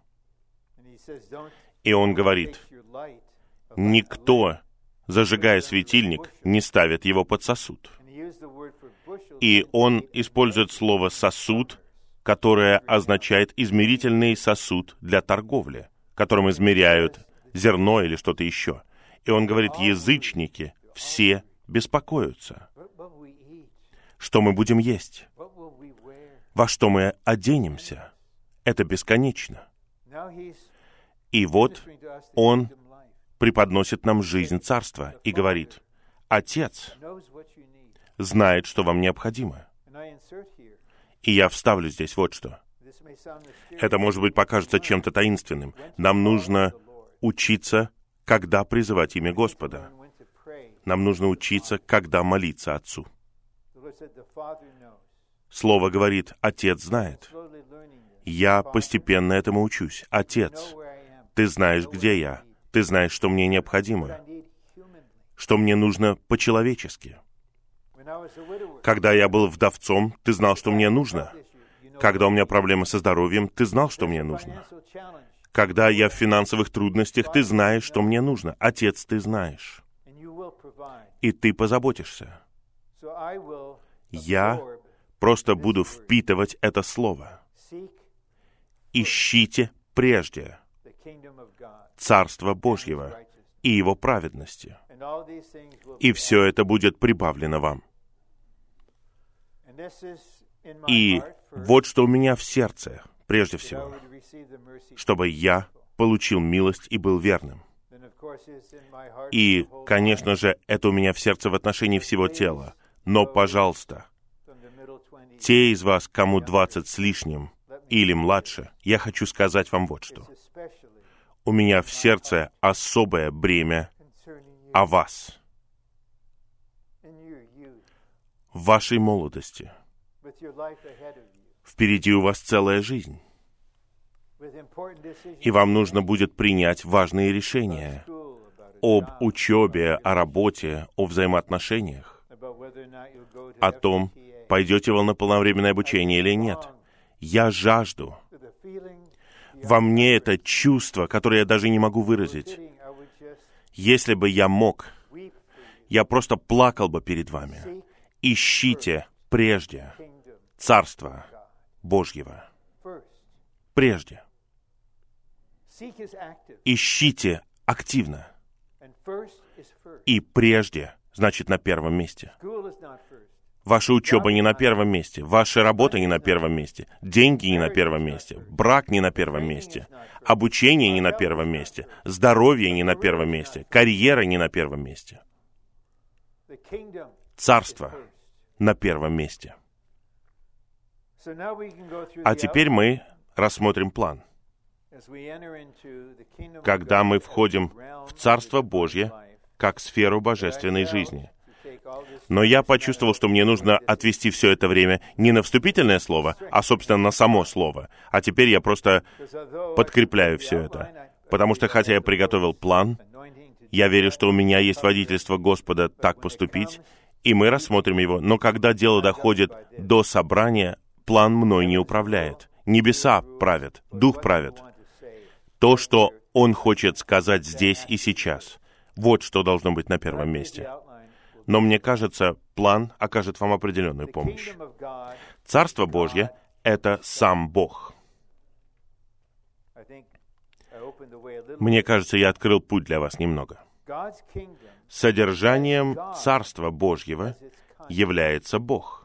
И он говорит, никто, зажигая светильник, не ставит его под сосуд. И он использует слово «сосуд», которое означает измерительный сосуд для торговли, которым измеряют зерно или что-то еще. И он говорит, язычники все беспокоятся. Что мы будем есть? Во что мы оденемся? Это бесконечно. И вот он преподносит нам жизнь царства и говорит, Отец знает, что вам необходимо. И я вставлю здесь вот что. Это, может быть, покажется чем-то таинственным. Нам нужно учиться, когда призывать имя Господа. Нам нужно учиться, когда молиться Отцу. Слово говорит, Отец знает. Я постепенно этому учусь. Отец, Ты знаешь, где я. Ты знаешь, что мне необходимо. Что мне нужно по-человечески. Когда я был вдовцом, Ты знал, что мне нужно. Когда у меня проблемы со здоровьем, Ты знал, что мне нужно. Когда я в финансовых трудностях, Ты знаешь, что мне нужно. Отец, Ты знаешь. И Ты позаботишься. Я просто буду впитывать это слово. Ищите прежде Царство Божьего и Его праведности. И все это будет прибавлено вам. И вот что у меня в сердце, прежде всего, чтобы я получил милость и был верным. И, конечно же, это у меня в сердце в отношении всего тела. Но, пожалуйста, те из вас, кому 20 с лишним или младше, я хочу сказать вам вот что. У меня в сердце особое бремя о вас, в вашей молодости. Впереди у вас целая жизнь. И вам нужно будет принять важные решения об учебе, о работе, о взаимоотношениях, о том, пойдете вы на полновременное обучение или нет. Я жажду. Во мне это чувство, которое я даже не могу выразить. Если бы я мог, я просто плакал бы перед вами. Ищите прежде Царства Божьего. Прежде. Ищите активно. И прежде, значит, на первом месте. Ваша учеба не на первом месте, ваша работа не на первом месте, деньги не на первом месте, брак не на первом месте, обучение не на первом месте, здоровье не на первом месте, карьера не на первом месте. Царство на первом месте. А теперь мы рассмотрим план. Когда мы входим в Царство Божье, как сферу божественной жизни. Но я почувствовал, что мне нужно отвести все это время не на вступительное слово, а, собственно, на само слово. А теперь я просто подкрепляю все это. Потому что, хотя я приготовил план, я верю, что у меня есть водительство Господа так поступить, и мы рассмотрим его. Но когда дело доходит до собрания, план мной не управляет. Небеса правят, Дух правит. То, что Он хочет сказать здесь и сейчас, вот что должно быть на первом месте. Но мне кажется, план окажет вам определенную помощь. Царство Божье — это сам Бог. Мне кажется, я открыл путь для вас немного. Содержанием Царства Божьего является Бог.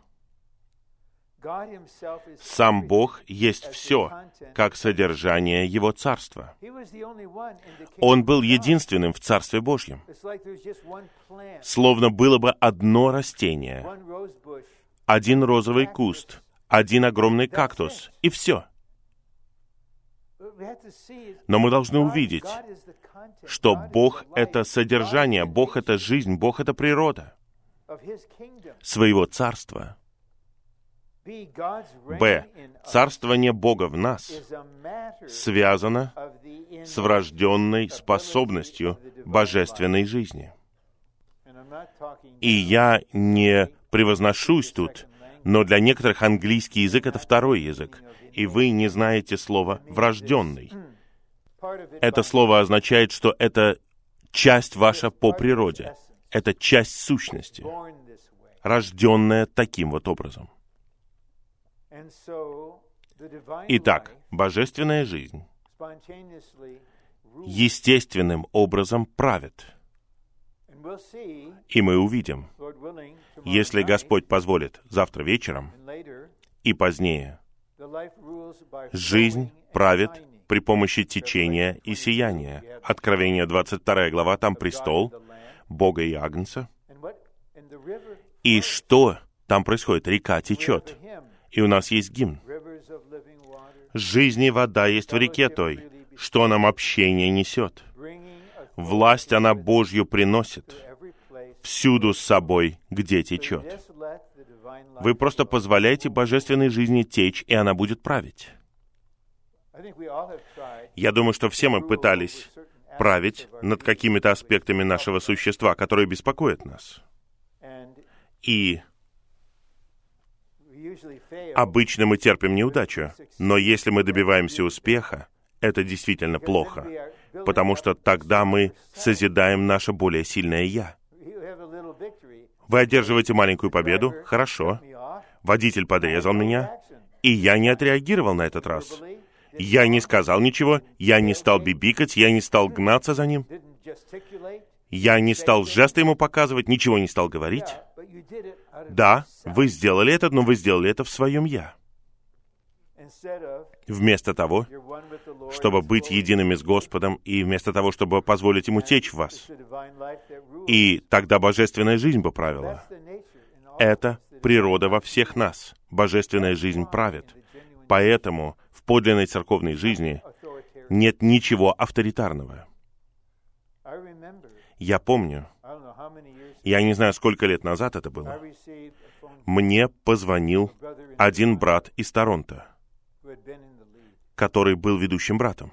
Сам Бог есть все, как содержание Его Царства. Он был единственным в Царстве Божьем. Словно было бы одно растение, один розовый куст, один огромный кактус, и все. Но мы должны увидеть, что Бог — это содержание, Бог — это жизнь, Бог — это природа своего Царства. Б. Царствование Бога в нас связано с врожденной способностью божественной жизни. И я не превозношусь тут, но для некоторых английский язык — это второй язык, и вы не знаете слова «врожденный». Это слово означает, что это часть ваша по природе, это часть сущности, рожденная таким вот образом. Итак, божественная жизнь естественным образом правит. И мы увидим, если Господь позволит, завтра вечером и позднее, жизнь правит при помощи течения и сияния. Откровение 22 глава, там престол Бога и Агнца. И что там происходит? Река течет. И у нас есть гимн. «Жизни вода есть в реке той, что нам общение несет. Власть она Божью приносит, всюду с собой, где течет». Вы просто позволяете божественной жизни течь, и она будет править. Я думаю, что все мы пытались править над какими-то аспектами нашего существа, которые беспокоят нас. И обычно мы терпим неудачу, но если мы добиваемся успеха, это действительно плохо, потому что тогда мы созидаем наше более сильное «я». Вы одерживаете маленькую победу? Хорошо. Водитель подрезал меня, и я не отреагировал на этот раз. Я не сказал ничего, я не стал бибикать, я не стал гнаться за ним. Я не стал жесты ему показывать, ничего не стал говорить. Да, вы сделали это, но вы сделали это в своем «я». Вместо того, чтобы быть едиными с Господом, и вместо того, чтобы позволить Ему течь в вас. И тогда божественная жизнь бы правила. Это природа во всех нас. Божественная жизнь правит. Поэтому в подлинной церковной жизни нет ничего авторитарного. Я помню, я не знаю, сколько лет назад это было, мне позвонил один брат из Торонто, который был ведущим братом.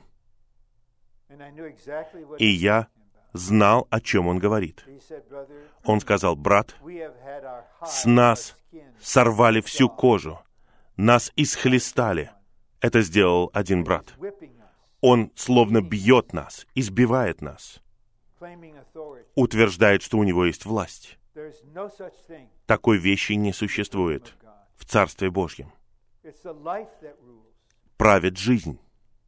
И я знал, о чем он говорит. Он сказал: «Брат, с нас сорвали всю кожу, нас исхлестали». Это сделал один брат. Он словно бьет нас, избивает нас, утверждает, что у него есть власть. Такой вещи не существует в Царстве Божьем. Правит жизнь.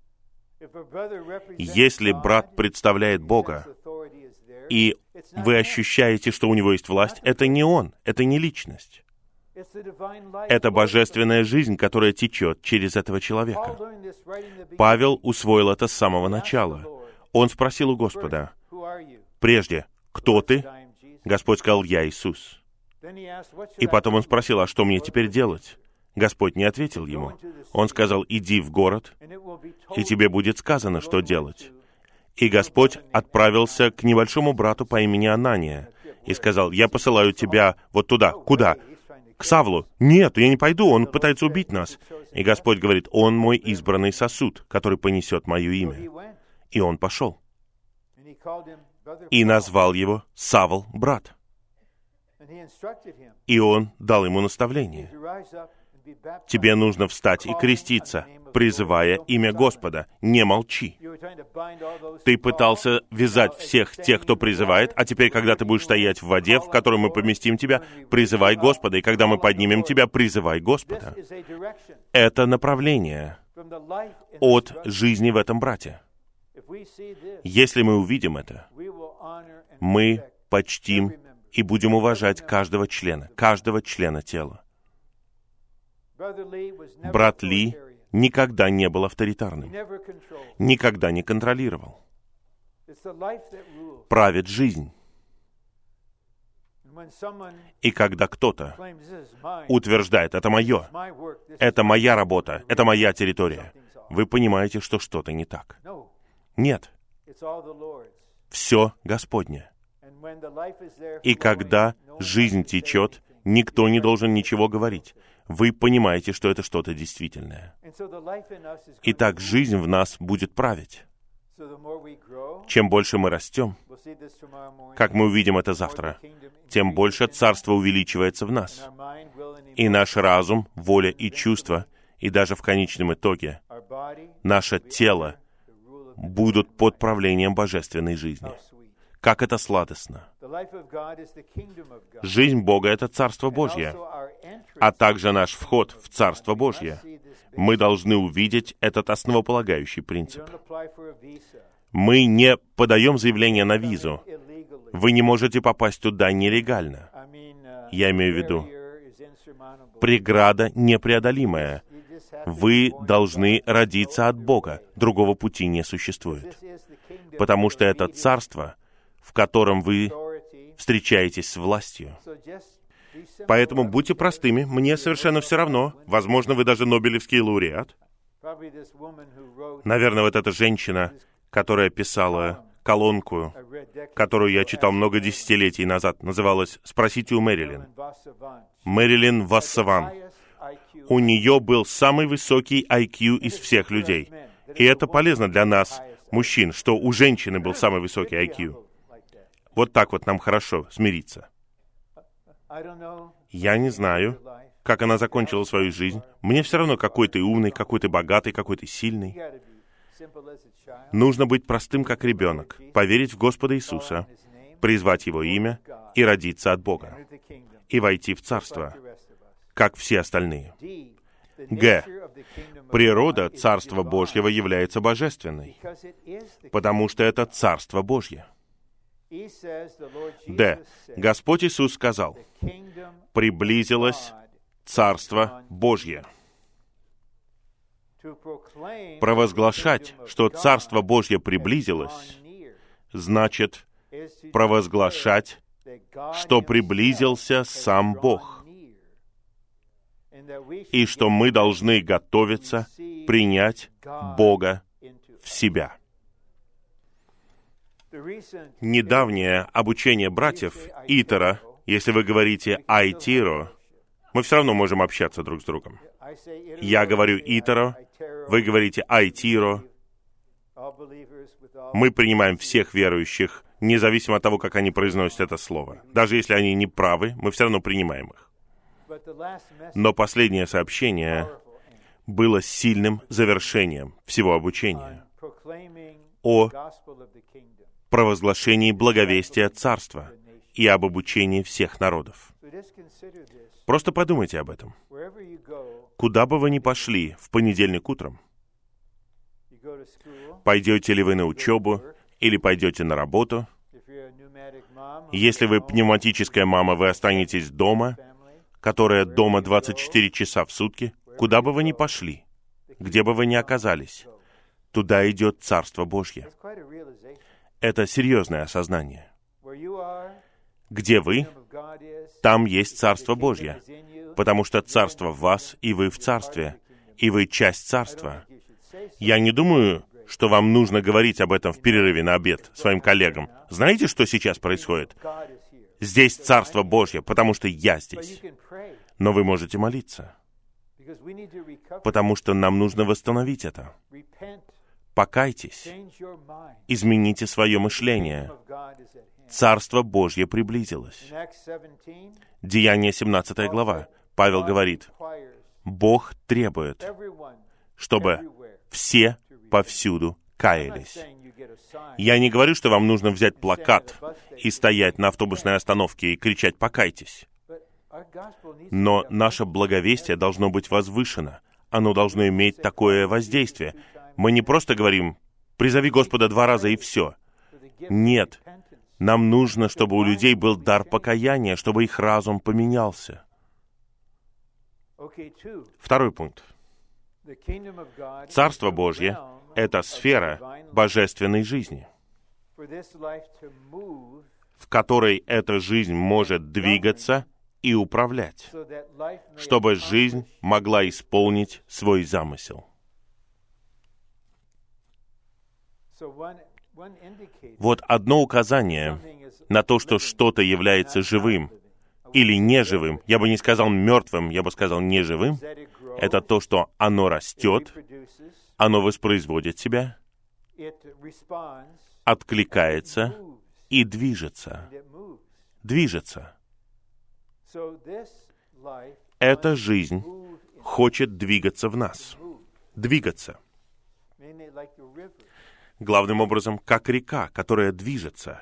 Если брат представляет Бога, и вы ощущаете, что у него есть власть, это не он, это не личность. Это божественная жизнь, которая течет через этого человека. Павел усвоил это с самого начала. Он спросил у Господа: прежде, кто ты? Господь сказал: я Иисус. И потом он спросил: а что мне теперь делать? Господь не ответил ему. Он сказал: иди в город, и тебе будет сказано, что делать. И Господь отправился к небольшому брату по имени Анания и сказал: я посылаю тебя вот туда. Куда? К Савлу. Нет, я не пойду, он пытается убить нас. И Господь говорит: он мой избранный сосуд, который понесет мое имя. И он пошел. И назвал его Савл, брат. И он дал ему наставление. Тебе нужно встать и креститься, призывая имя Господа. Не молчи. Ты пытался вязать всех тех, кто призывает, а теперь, когда ты будешь стоять в воде, в которой мы поместим тебя, призывай Господа. И когда мы поднимем тебя, призывай Господа. Это направление от жизни в этом брате. Если мы увидим это, мы почтим и будем уважать каждого члена тела. Брат Ли никогда не был авторитарным, никогда не контролировал. Правит жизнь. И когда кто-то утверждает: это мое, это моя работа, это моя территория, вы понимаете, что что-то не так. Нет. Все Господне. И когда жизнь течет, никто не должен ничего говорить. вы понимаете, что это что-то действительное. Итак, жизнь в нас будет править. Чем больше мы растем, как мы увидим это завтра, тем больше Царство увеличивается в нас. И наш разум, воля и чувства, и даже в конечном итоге, наше тело будут под правлением божественной жизни. Как это сладостно! Жизнь Бога — это Царство Божье, а также наш вход в Царство Божье. Мы должны увидеть этот основополагающий принцип. Мы не подаем заявление на визу. Вы не можете попасть туда нелегально. Я имею в виду, преграда непреодолимая. Вы должны родиться от Бога. Другого пути не существует. Потому что это Царство, в котором вы встречаетесь с властью. Поэтому будьте простыми, мне совершенно все равно. Возможно, вы даже Нобелевский лауреат. Наверное, вот эта женщина, которая писала колонку, которую я читал много десятилетий назад, называлась «Спросите у Мэрилин». Мэрилин Вассаван. У нее был самый высокий IQ из всех людей. И это полезно для нас, мужчин, что у женщины был самый высокий IQ. Вот так вот нам хорошо смириться. Я не знаю, как она закончила свою жизнь. Мне все равно, какой ты умный, какой ты богатый, какой ты сильный. Нужно быть простым, как ребенок, поверить в Господа Иисуса, призвать Его имя и родиться от Бога, и войти в Царство, как все остальные. Г. Природа Царства Божьего является божественной, потому что это Царство Божье. Д. Господь Иисус сказал: «Приблизилось Царство Божье». Провозглашать, что Царство Божье приблизилось, значит провозглашать, что приблизился сам Бог, и что мы должны готовиться принять Бога в себя. Недавнее обучение братьев Итера, если вы говорите «Айтиро», мы все равно можем общаться друг с другом. Я говорю «Итеро», вы говорите «Айтиро». Мы принимаем всех верующих, независимо от того, как они произносят это слово. Даже если они не правы, мы все равно принимаем их. Но последнее сообщение было сильным завершением всего обучения о провозглашении благовестия Царства и об обучении всех народов. Просто подумайте об этом. Куда бы вы ни пошли в понедельник утром, пойдете ли вы на учебу или пойдете на работу, если вы пневматическая мама, вы останетесь дома, которая дома 24 часа в сутки, куда бы вы ни пошли, где бы вы ни оказались, туда идет Царство Божье. Это серьезное осознание. Где вы, там есть Царство Божье, потому что Царство в вас, и вы в Царстве, и вы часть Царства. Я не думаю, что вам нужно говорить об этом в перерыве на обед своим коллегам. Знаете, что сейчас происходит? Здесь Царство Божье, потому что я здесь. Но вы можете молиться, потому что нам нужно восстановить это. Покайтесь, измените свое мышление. Царство Божье приблизилось. Деяние 17 глава. Павел говорит: Бог требует, чтобы все повсюду каялись. Я не говорю, что вам нужно взять плакат и стоять на автобусной остановке и кричать «покайтесь». Но наше благовестие должно быть возвышено. Оно должно иметь такое воздействие. Мы не просто говорим «призови Господа 2 раза» и все. Нет. Нам нужно, чтобы у людей был дар покаяния, чтобы их разум поменялся. Второй пункт. Царство Божье — это сфера божественной жизни, в которой эта жизнь может двигаться и управлять, чтобы жизнь могла исполнить свой замысел. Вот одно указание на то, что что-то является живым, или неживым, я бы не сказал мертвым, я бы сказал неживым, это то, что оно растет, оно воспроизводит себя, откликается и движется. Движется. Эта жизнь хочет двигаться в нас. Двигаться. Главным образом, как река, которая движется.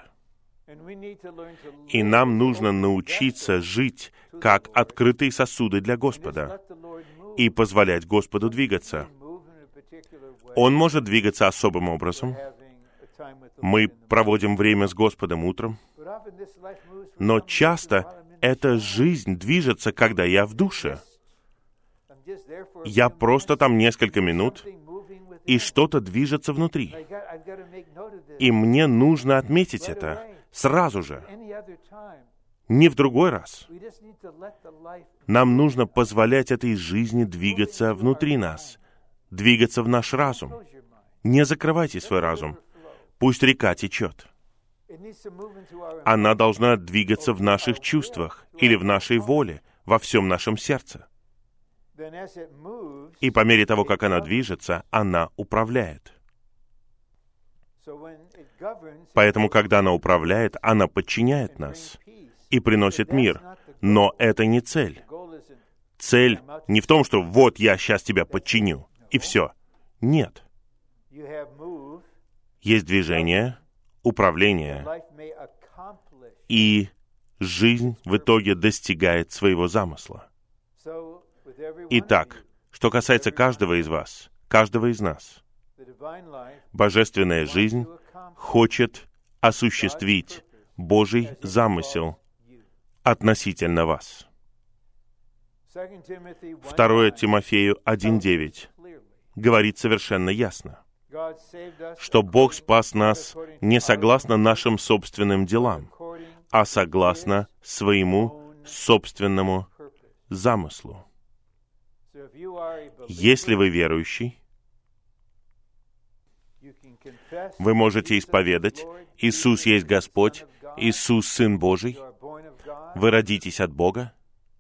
И нам нужно научиться жить как открытые сосуды для Господа и позволять Господу двигаться. Он может двигаться особым образом. Мы проводим время с Господом утром, но часто эта жизнь движется, когда я в душе. Я просто там несколько минут, и что-то движется внутри. И мне нужно отметить это сразу же, не в другой раз. Нам нужно позволять этой жизни двигаться внутри нас, двигаться в наш разум. Не закрывайте свой разум. Пусть река течет. Она должна двигаться в наших чувствах или в нашей воле, во всем нашем сердце. И по мере того, как она движется, она управляет. Поэтому, когда она управляет, она подчиняет нас и приносит мир. Но это не цель. Цель не в том, что вот я сейчас тебя подчиню, и все. Нет. Есть движение, управление, и жизнь в итоге достигает своего замысла. Итак, что касается каждого из вас, каждого из нас, божественная жизнь хочет осуществить Божий замысел относительно вас. 2 Тимофею 1:9 говорит совершенно ясно, что Бог спас нас не согласно нашим собственным делам, а согласно своему собственному замыслу. Если вы верующий, вы можете исповедать: Иисус есть Господь, Иисус Сын Божий, вы родитесь от Бога,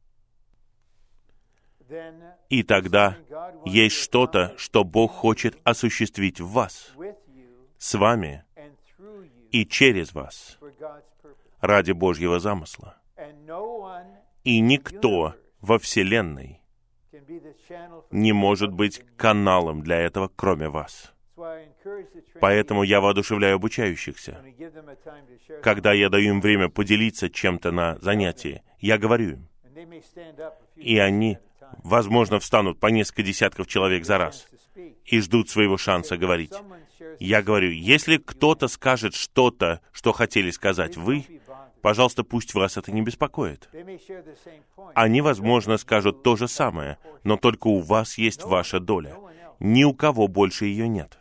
и тогда есть что-то, что Бог хочет осуществить в вас, с вами и через вас, ради Божьего замысла. И никто во Вселенной не может быть каналом для этого, кроме вас. Поэтому я воодушевляю обучающихся. Когда я даю им время поделиться чем-то на занятии, я говорю им, и они, возможно, встанут по несколько десятков человек за раз и ждут своего шанса говорить. Я говорю, если кто-то скажет что-то, что хотели сказать вы, пожалуйста, пусть вас это не беспокоит. Они, возможно, скажут то же самое, но только у вас есть ваша доля. Ни у кого больше ее нет.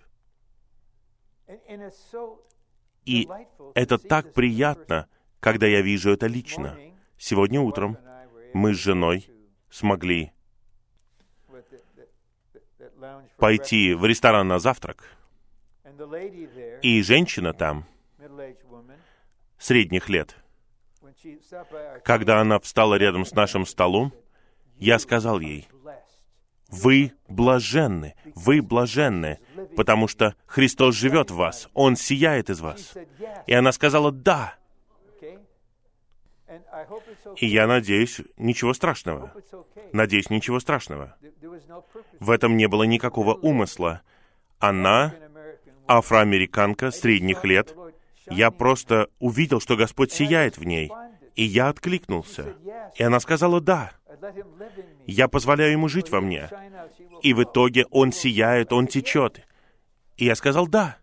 И это так приятно, когда я вижу это лично. Сегодня утром мы с женой смогли пойти в ресторан на завтрак, и женщина там, средних лет, когда она встала рядом с нашим столом, я сказал ей: вы блаженны, потому что Христос живет в вас, Он сияет из вас. И она сказала: да. И я надеюсь, ничего страшного. Надеюсь, ничего страшного. В этом не было никакого умысла. Она афроамериканка средних лет. Я просто увидел, что Господь сияет в ней, и я откликнулся. И она сказала: да. Я позволяю ему жить во мне. И в итоге он сияет, он течет. И я сказал: да.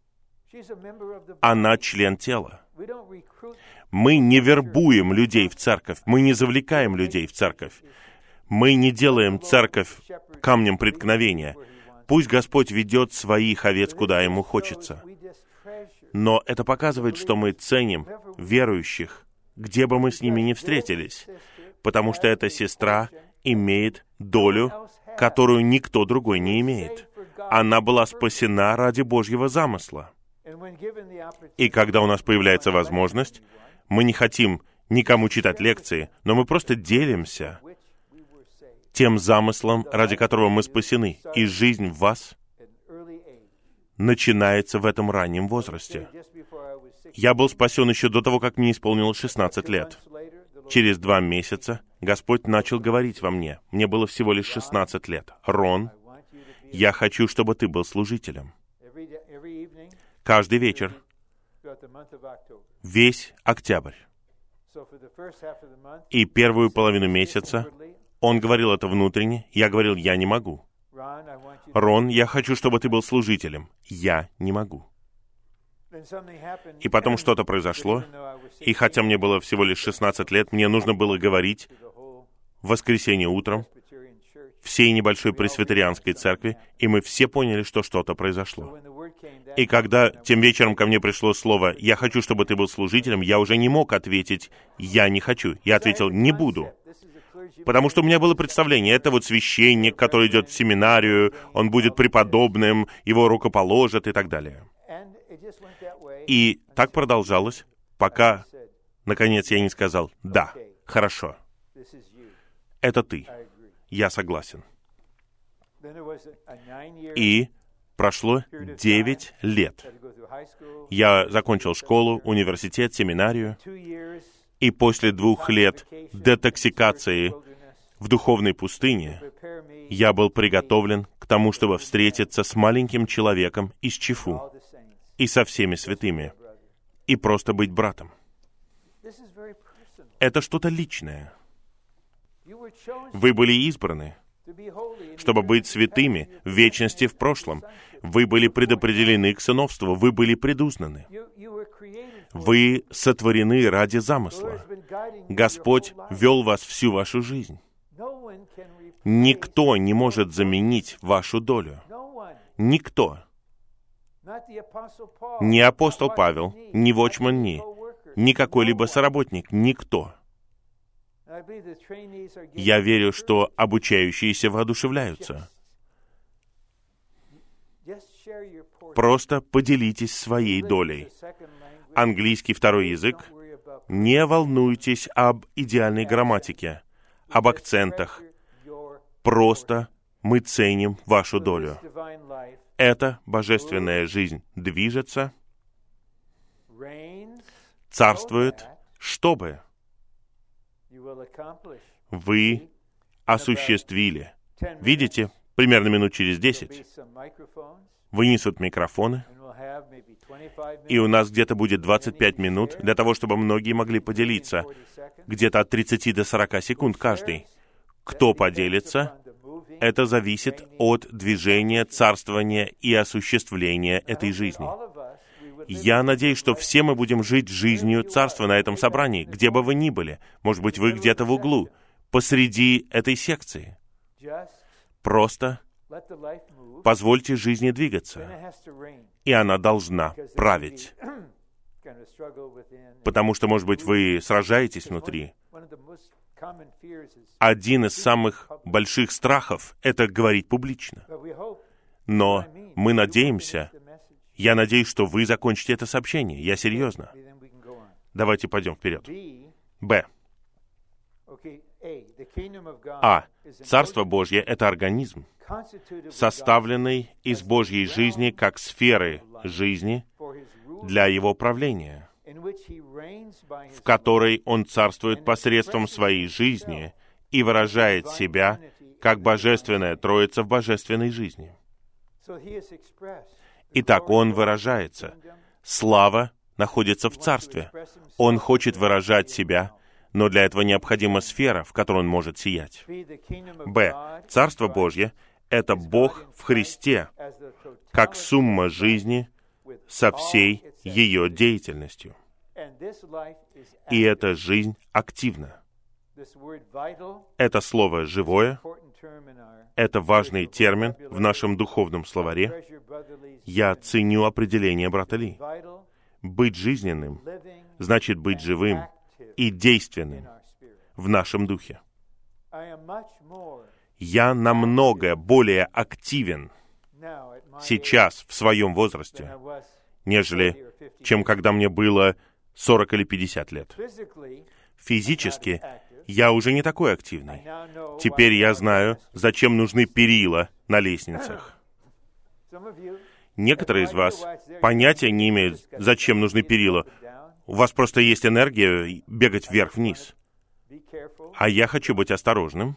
Она член тела. Мы не вербуем людей в церковь, мы не завлекаем людей в церковь. Мы не делаем церковь камнем преткновения. Пусть Господь ведет своих овец, куда Ему хочется. Но это показывает, что мы ценим верующих, где бы мы с ними ни встретились, потому что эта сестра имеет долю, которую никто другой не имеет. Она была спасена ради Божьего замысла. И когда у нас появляется возможность, мы не хотим никому читать лекции, но мы просто делимся тем замыслом, ради которого мы спасены. И жизнь в вас начинается в этом раннем возрасте. Я был спасен еще до того, как мне исполнилось 16 лет. Через 2 месяца Господь начал говорить во мне. Мне было всего лишь 16 лет. «Рон, я хочу, чтобы ты был служителем». Каждый вечер, весь октябрь. И первую половину месяца он говорил это внутренне, я говорил, я не могу. «Рон, я хочу, чтобы ты был служителем». Я не могу. И потом что-то произошло, и хотя мне было всего лишь 16 лет, мне нужно было говорить в воскресенье утром всей небольшой пресвитерианской церкви, и мы все поняли, что что-то произошло. И когда тем вечером ко мне пришло слово «Я хочу, чтобы ты был служителем», я уже не мог ответить «Я не хочу». Я ответил «Не буду». Потому что у меня было представление, это вот священник, который идет в семинарию, он будет преподобным, его рукоположат и так далее. И так продолжалось, пока, наконец, я не сказал «Да, хорошо, это ты, я согласен». И прошло 9 лет. Я закончил школу, университет, семинарию, и после 2 лет детоксикации в духовной пустыне я был приготовлен к тому, чтобы встретиться с маленьким человеком из Чифу и со всеми святыми, и просто быть братом. Это что-то личное. Вы были избраны, чтобы быть святыми в вечности в прошлом. Вы были предопределены к сыновству, вы были предузнаны. Вы сотворены ради замысла. Господь вел вас всю вашу жизнь. Никто не может заменить вашу долю. Никто. Ни апостол Павел, ни Watchman Nee, ни какой-либо соработник, никто. Я верю, что обучающиеся воодушевляются. Просто поделитесь своей долей. Английский второй язык. Не волнуйтесь об идеальной грамматике, об акцентах. Просто мы ценим вашу долю. Эта божественная жизнь движется, царствует, чтобы вы осуществили. Видите, примерно минут через 10 вынесут микрофоны, и у нас где-то будет 25 минут для того, чтобы многие могли поделиться. Где-то от 30 до 40 секунд каждый. Кто поделится, это зависит от движения, царствования и осуществления этой жизни. Я надеюсь, что все мы будем жить жизнью царства на этом собрании, где бы вы ни были. Может быть, вы где-то в углу, посреди этой секции. Просто позвольте жизни двигаться, и она должна править. Потому что, может быть, вы сражаетесь внутри. Один из самых больших страхов — это говорить публично. Но мы надеемся, я надеюсь, что вы закончите это сообщение. Я серьезно. Давайте пойдем вперед. Б. А. Царство Божье — это организм, составленный из Божьей жизни как сферы жизни для Его правления, в которой Он царствует посредством своей жизни и выражает себя как Божественная Троица в божественной жизни. Итак, Он выражается. Слава находится в Царстве. Он хочет выражать себя, но для этого необходима сфера, в которой Он может сиять. Б. Царство Божье — это Бог в Христе, как сумма жизни со всей ее деятельностью. И эта жизнь активна. Это слово «живое» — это важный термин в нашем духовном словаре. Я ценю определение брата Ли. Быть жизненным значит быть живым и действенным в нашем духе. Я намного более активен сейчас, в своем возрасте, нежели чем когда мне было 40 или 50 лет. Физически я уже не такой активный. Теперь я знаю, зачем нужны перила на лестницах. Некоторые из вас понятия не имеют, зачем нужны перила. У вас просто есть энергия бегать вверх-вниз. А я хочу быть осторожным.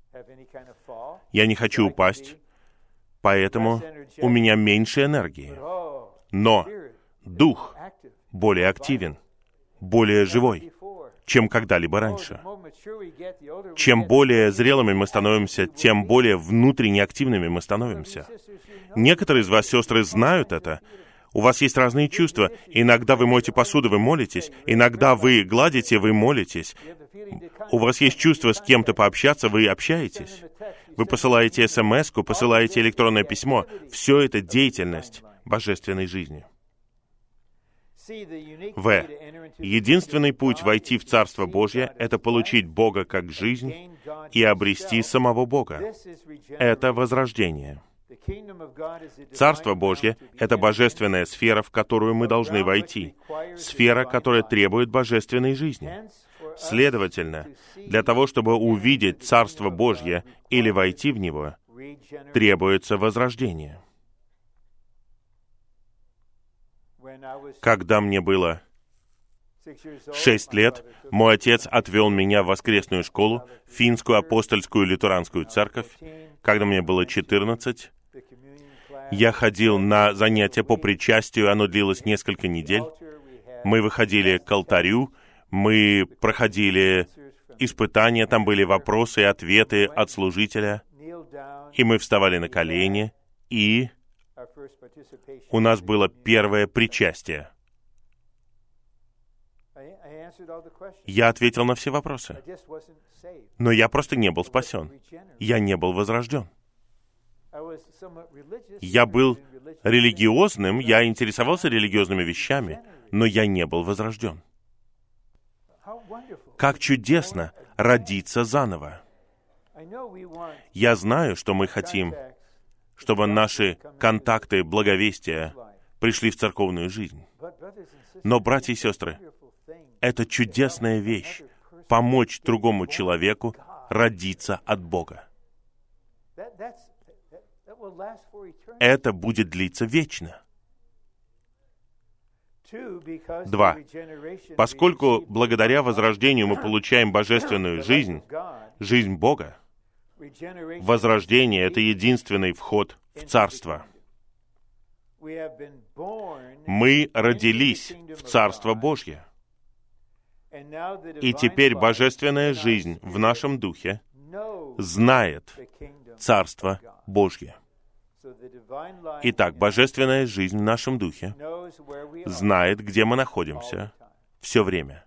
Я не хочу упасть, поэтому у меня меньше энергии. Но дух более активен, более живой, чем когда-либо раньше. Чем более зрелыми мы становимся, тем более внутренне активными мы становимся. Некоторые из вас, сестры, знают это. У вас есть разные чувства. Иногда вы моете посуду, вы молитесь. Иногда вы гладите, вы молитесь. У вас есть чувство с кем-то пообщаться, вы общаетесь. Вы посылаете смс-ку, посылаете электронное письмо. Все это деятельность божественной жизни. В. Единственный путь войти в Царство Божье — это получить Бога как жизнь и обрести самого Бога. Это возрождение. Царство Божье — это божественная сфера, в которую мы должны войти. Сфера, которая требует божественной жизни. Следовательно, для того, чтобы увидеть Царство Божье или войти в него, требуется возрождение. Когда мне было 6 лет, мой отец отвел меня в воскресную школу, финскую апостольскую лютеранскую церковь. Когда мне было 14, я ходил на занятия по причастию, оно длилось несколько недель. Мы выходили к алтарю, мы проходили испытания, там были вопросы и ответы от служителя, и мы вставали на колени, и у нас было первое причастие. Я ответил на все вопросы. Но я просто не был спасен. Я не был возрожден. Я был религиозным, я интересовался религиозными вещами, но я не был возрожден. Как чудесно родиться заново. Я знаю, что мы хотим, чтобы наши контакты благовестия пришли в церковную жизнь. Но, братья и сестры, это чудесная вещь — помочь другому человеку родиться от Бога. Это будет длиться вечно. 2. Поскольку благодаря возрождению мы получаем божественную жизнь, жизнь Бога, возрождение — это единственный вход в Царство. Мы родились в Царство Божье. И теперь божественная жизнь в нашем духе знает Царство Божье. Итак, божественная жизнь в нашем духе знает, где мы находимся все время.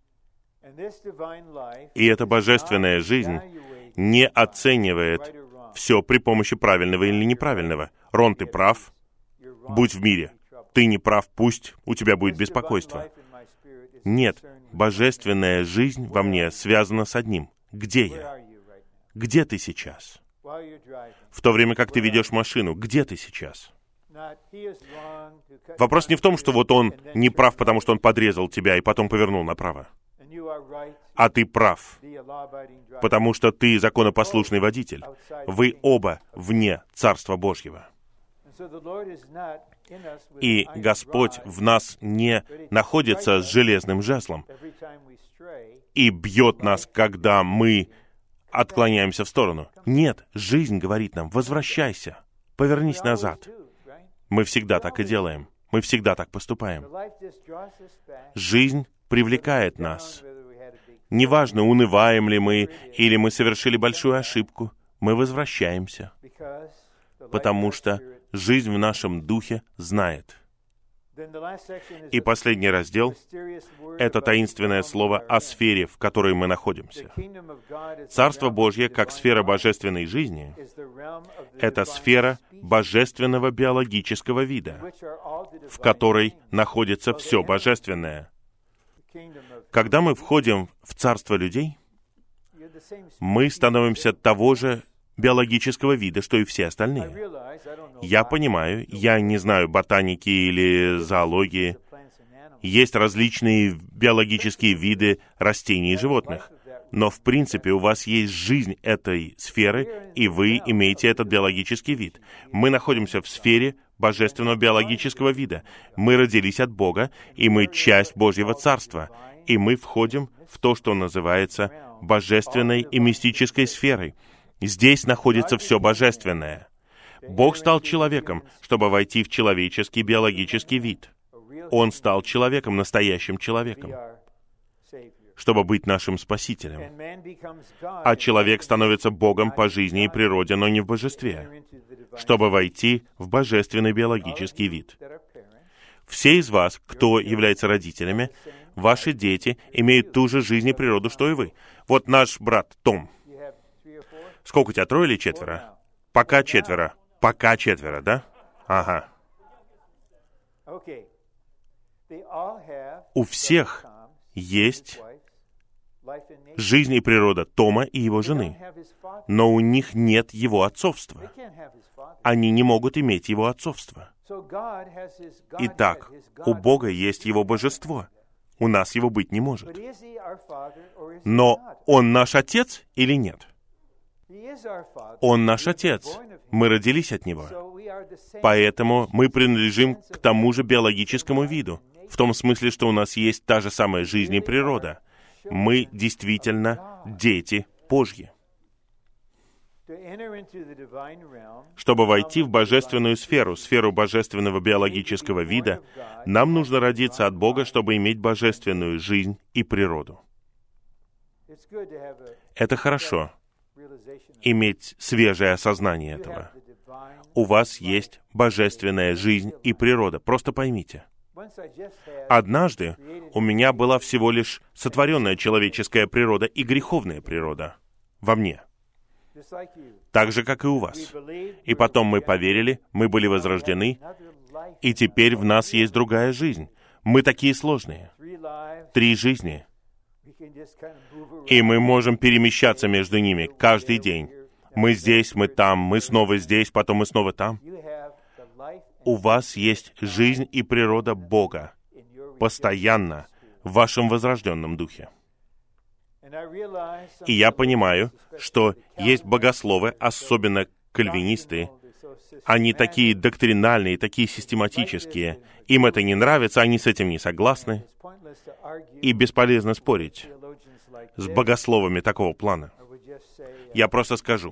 И эта божественная жизнь не оценивает все при помощи правильного или неправильного. Рон, ты прав, будь в мире. Ты не прав, пусть у тебя будет беспокойство. Нет, божественная жизнь во мне связана с одним. Где я? Где ты сейчас? В то время, как ты ведешь машину, где ты сейчас? Вопрос не в том, что вот он не прав, потому что он подрезал тебя и потом повернул направо. А ты прав, потому что ты законопослушный водитель. Вы оба вне Царства Божьего. И Господь в нас не находится с железным жезлом и бьет нас, когда мы отклоняемся в сторону. Нет, жизнь говорит нам: возвращайся, повернись назад. Мы всегда так и делаем. Мы всегда так поступаем. Жизнь привлекает нас. Неважно, унываем ли мы, или мы совершили большую ошибку, мы возвращаемся, потому что жизнь в нашем духе знает. И последний раздел — это таинственное слово о сфере, в которой мы находимся. Царство Божье, как сфера божественной жизни, это сфера божественного биологического вида, в которой находится все божественное. Когда мы входим в царство людей, мы становимся того же биологического вида, что и все остальные. Я понимаю, я не знаю ботаники или зоологии, Есть различные биологические виды растений и животных. Но, в принципе, у вас есть жизнь этой сферы, и вы имеете этот биологический вид. Мы находимся в сфере божественного биологического вида. Мы родились от Бога, и мы часть Божьего Царства. И мы входим в то, что называется божественной и мистической сферой. Здесь находится все божественное. Бог стал человеком, чтобы войти в человеческий биологический вид. Он стал человеком, настоящим человеком, чтобы быть нашим Спасителем. А человек становится Богом по жизни и природе, но не в божестве, чтобы войти в божественный биологический вид. Все из вас, кто является родителями, ваши дети имеют ту же жизнь и природу, что и вы. Вот наш брат Том. Сколько у тебя, 3 или 4? Пока 4. Пока 4, да? Ага. У всех есть жизнь и природа Тома и его жены, но у них нет его отцовства. Они не могут иметь его отцовство. Итак, у Бога есть его божество. У нас его быть не может. Но Он наш Отец или нет? Он наш Отец. Мы родились от Него. Поэтому мы принадлежим к тому же биологическому виду, в том смысле, что у нас есть та же самая жизнь и природа. Мы действительно дети Божьи. Чтобы войти в божественную сферу, сферу божественного биологического вида, нам нужно родиться от Бога, чтобы иметь божественную жизнь и природу. Это хорошо, иметь свежее осознание этого. У вас есть божественная жизнь и природа. Просто поймите. Однажды у меня была всего лишь сотворенная человеческая природа и греховная природа во мне. Так же, как и у вас. И потом мы поверили, мы были возрождены, и теперь в нас есть другая жизнь. Мы такие сложные. 3 жизни. И мы можем перемещаться между ними каждый день. Мы здесь, мы там, мы снова здесь, потом мы снова там. У вас есть жизнь и природа Бога постоянно в вашем возрожденном духе. И я понимаю, что есть богословы, особенно кальвинисты, они такие доктринальные, такие систематические. Им это не нравится, они с этим не согласны. И бесполезно спорить с богословами такого плана. Я просто скажу.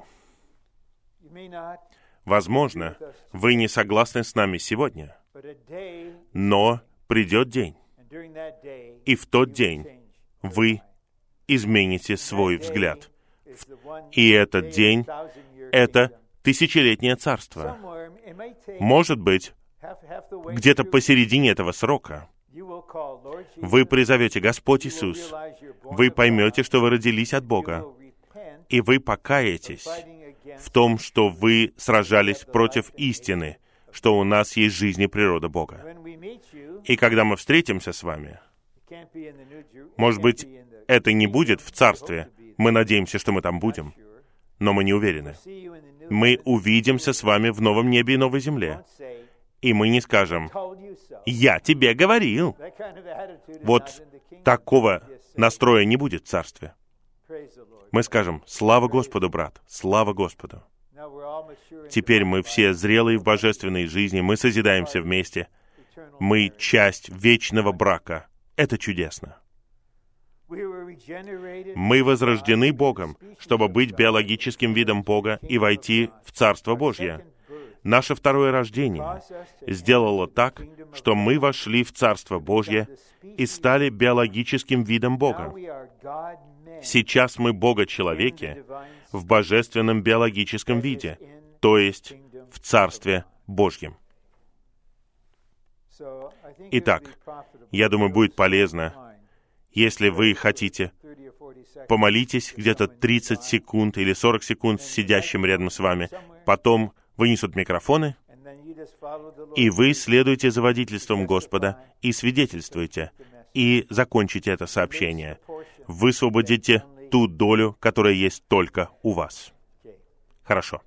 Возможно, вы не согласны с нами сегодня, но придет день, и в тот день вы измените свой взгляд. И этот день — это тысячелетнее царство. Может быть, где-то посередине этого срока вы призовете: «Господь Иисус», вы поймете, что вы родились от Бога, и вы покаетесь в том, что вы сражались против истины, что у нас есть жизнь и природа Бога. И когда мы встретимся с вами, может быть, это не будет в Царстве, мы надеемся, что мы там будем, но мы не уверены. Мы увидимся с вами в новом небе и новой земле, и мы не скажем: «Я тебе говорил». Вот такого настроя не будет в Царстве. Мы скажем: «Слава Господу, брат, слава Господу». Теперь мы все зрелые в божественной жизни, мы созидаемся вместе, мы часть вечного брака. Это чудесно. Мы возрождены Богом, чтобы быть биологическим видом Бога и войти в Царство Божье. Наше второе рождение сделало так, что мы вошли в Царство Божье и стали биологическим видом Бога. Сейчас мы Бога-человеки в божественном биологическом виде, то есть в Царстве Божьем. Итак, я думаю, будет полезно, если вы хотите, помолитесь где-то 30 секунд или 40 секунд с сидящим рядом с вами, потом вынесут микрофоны, и вы следуете за водительством Господа и свидетельствуете, и закончите это сообщение. Высвободите ту долю, которая есть только у вас. Хорошо.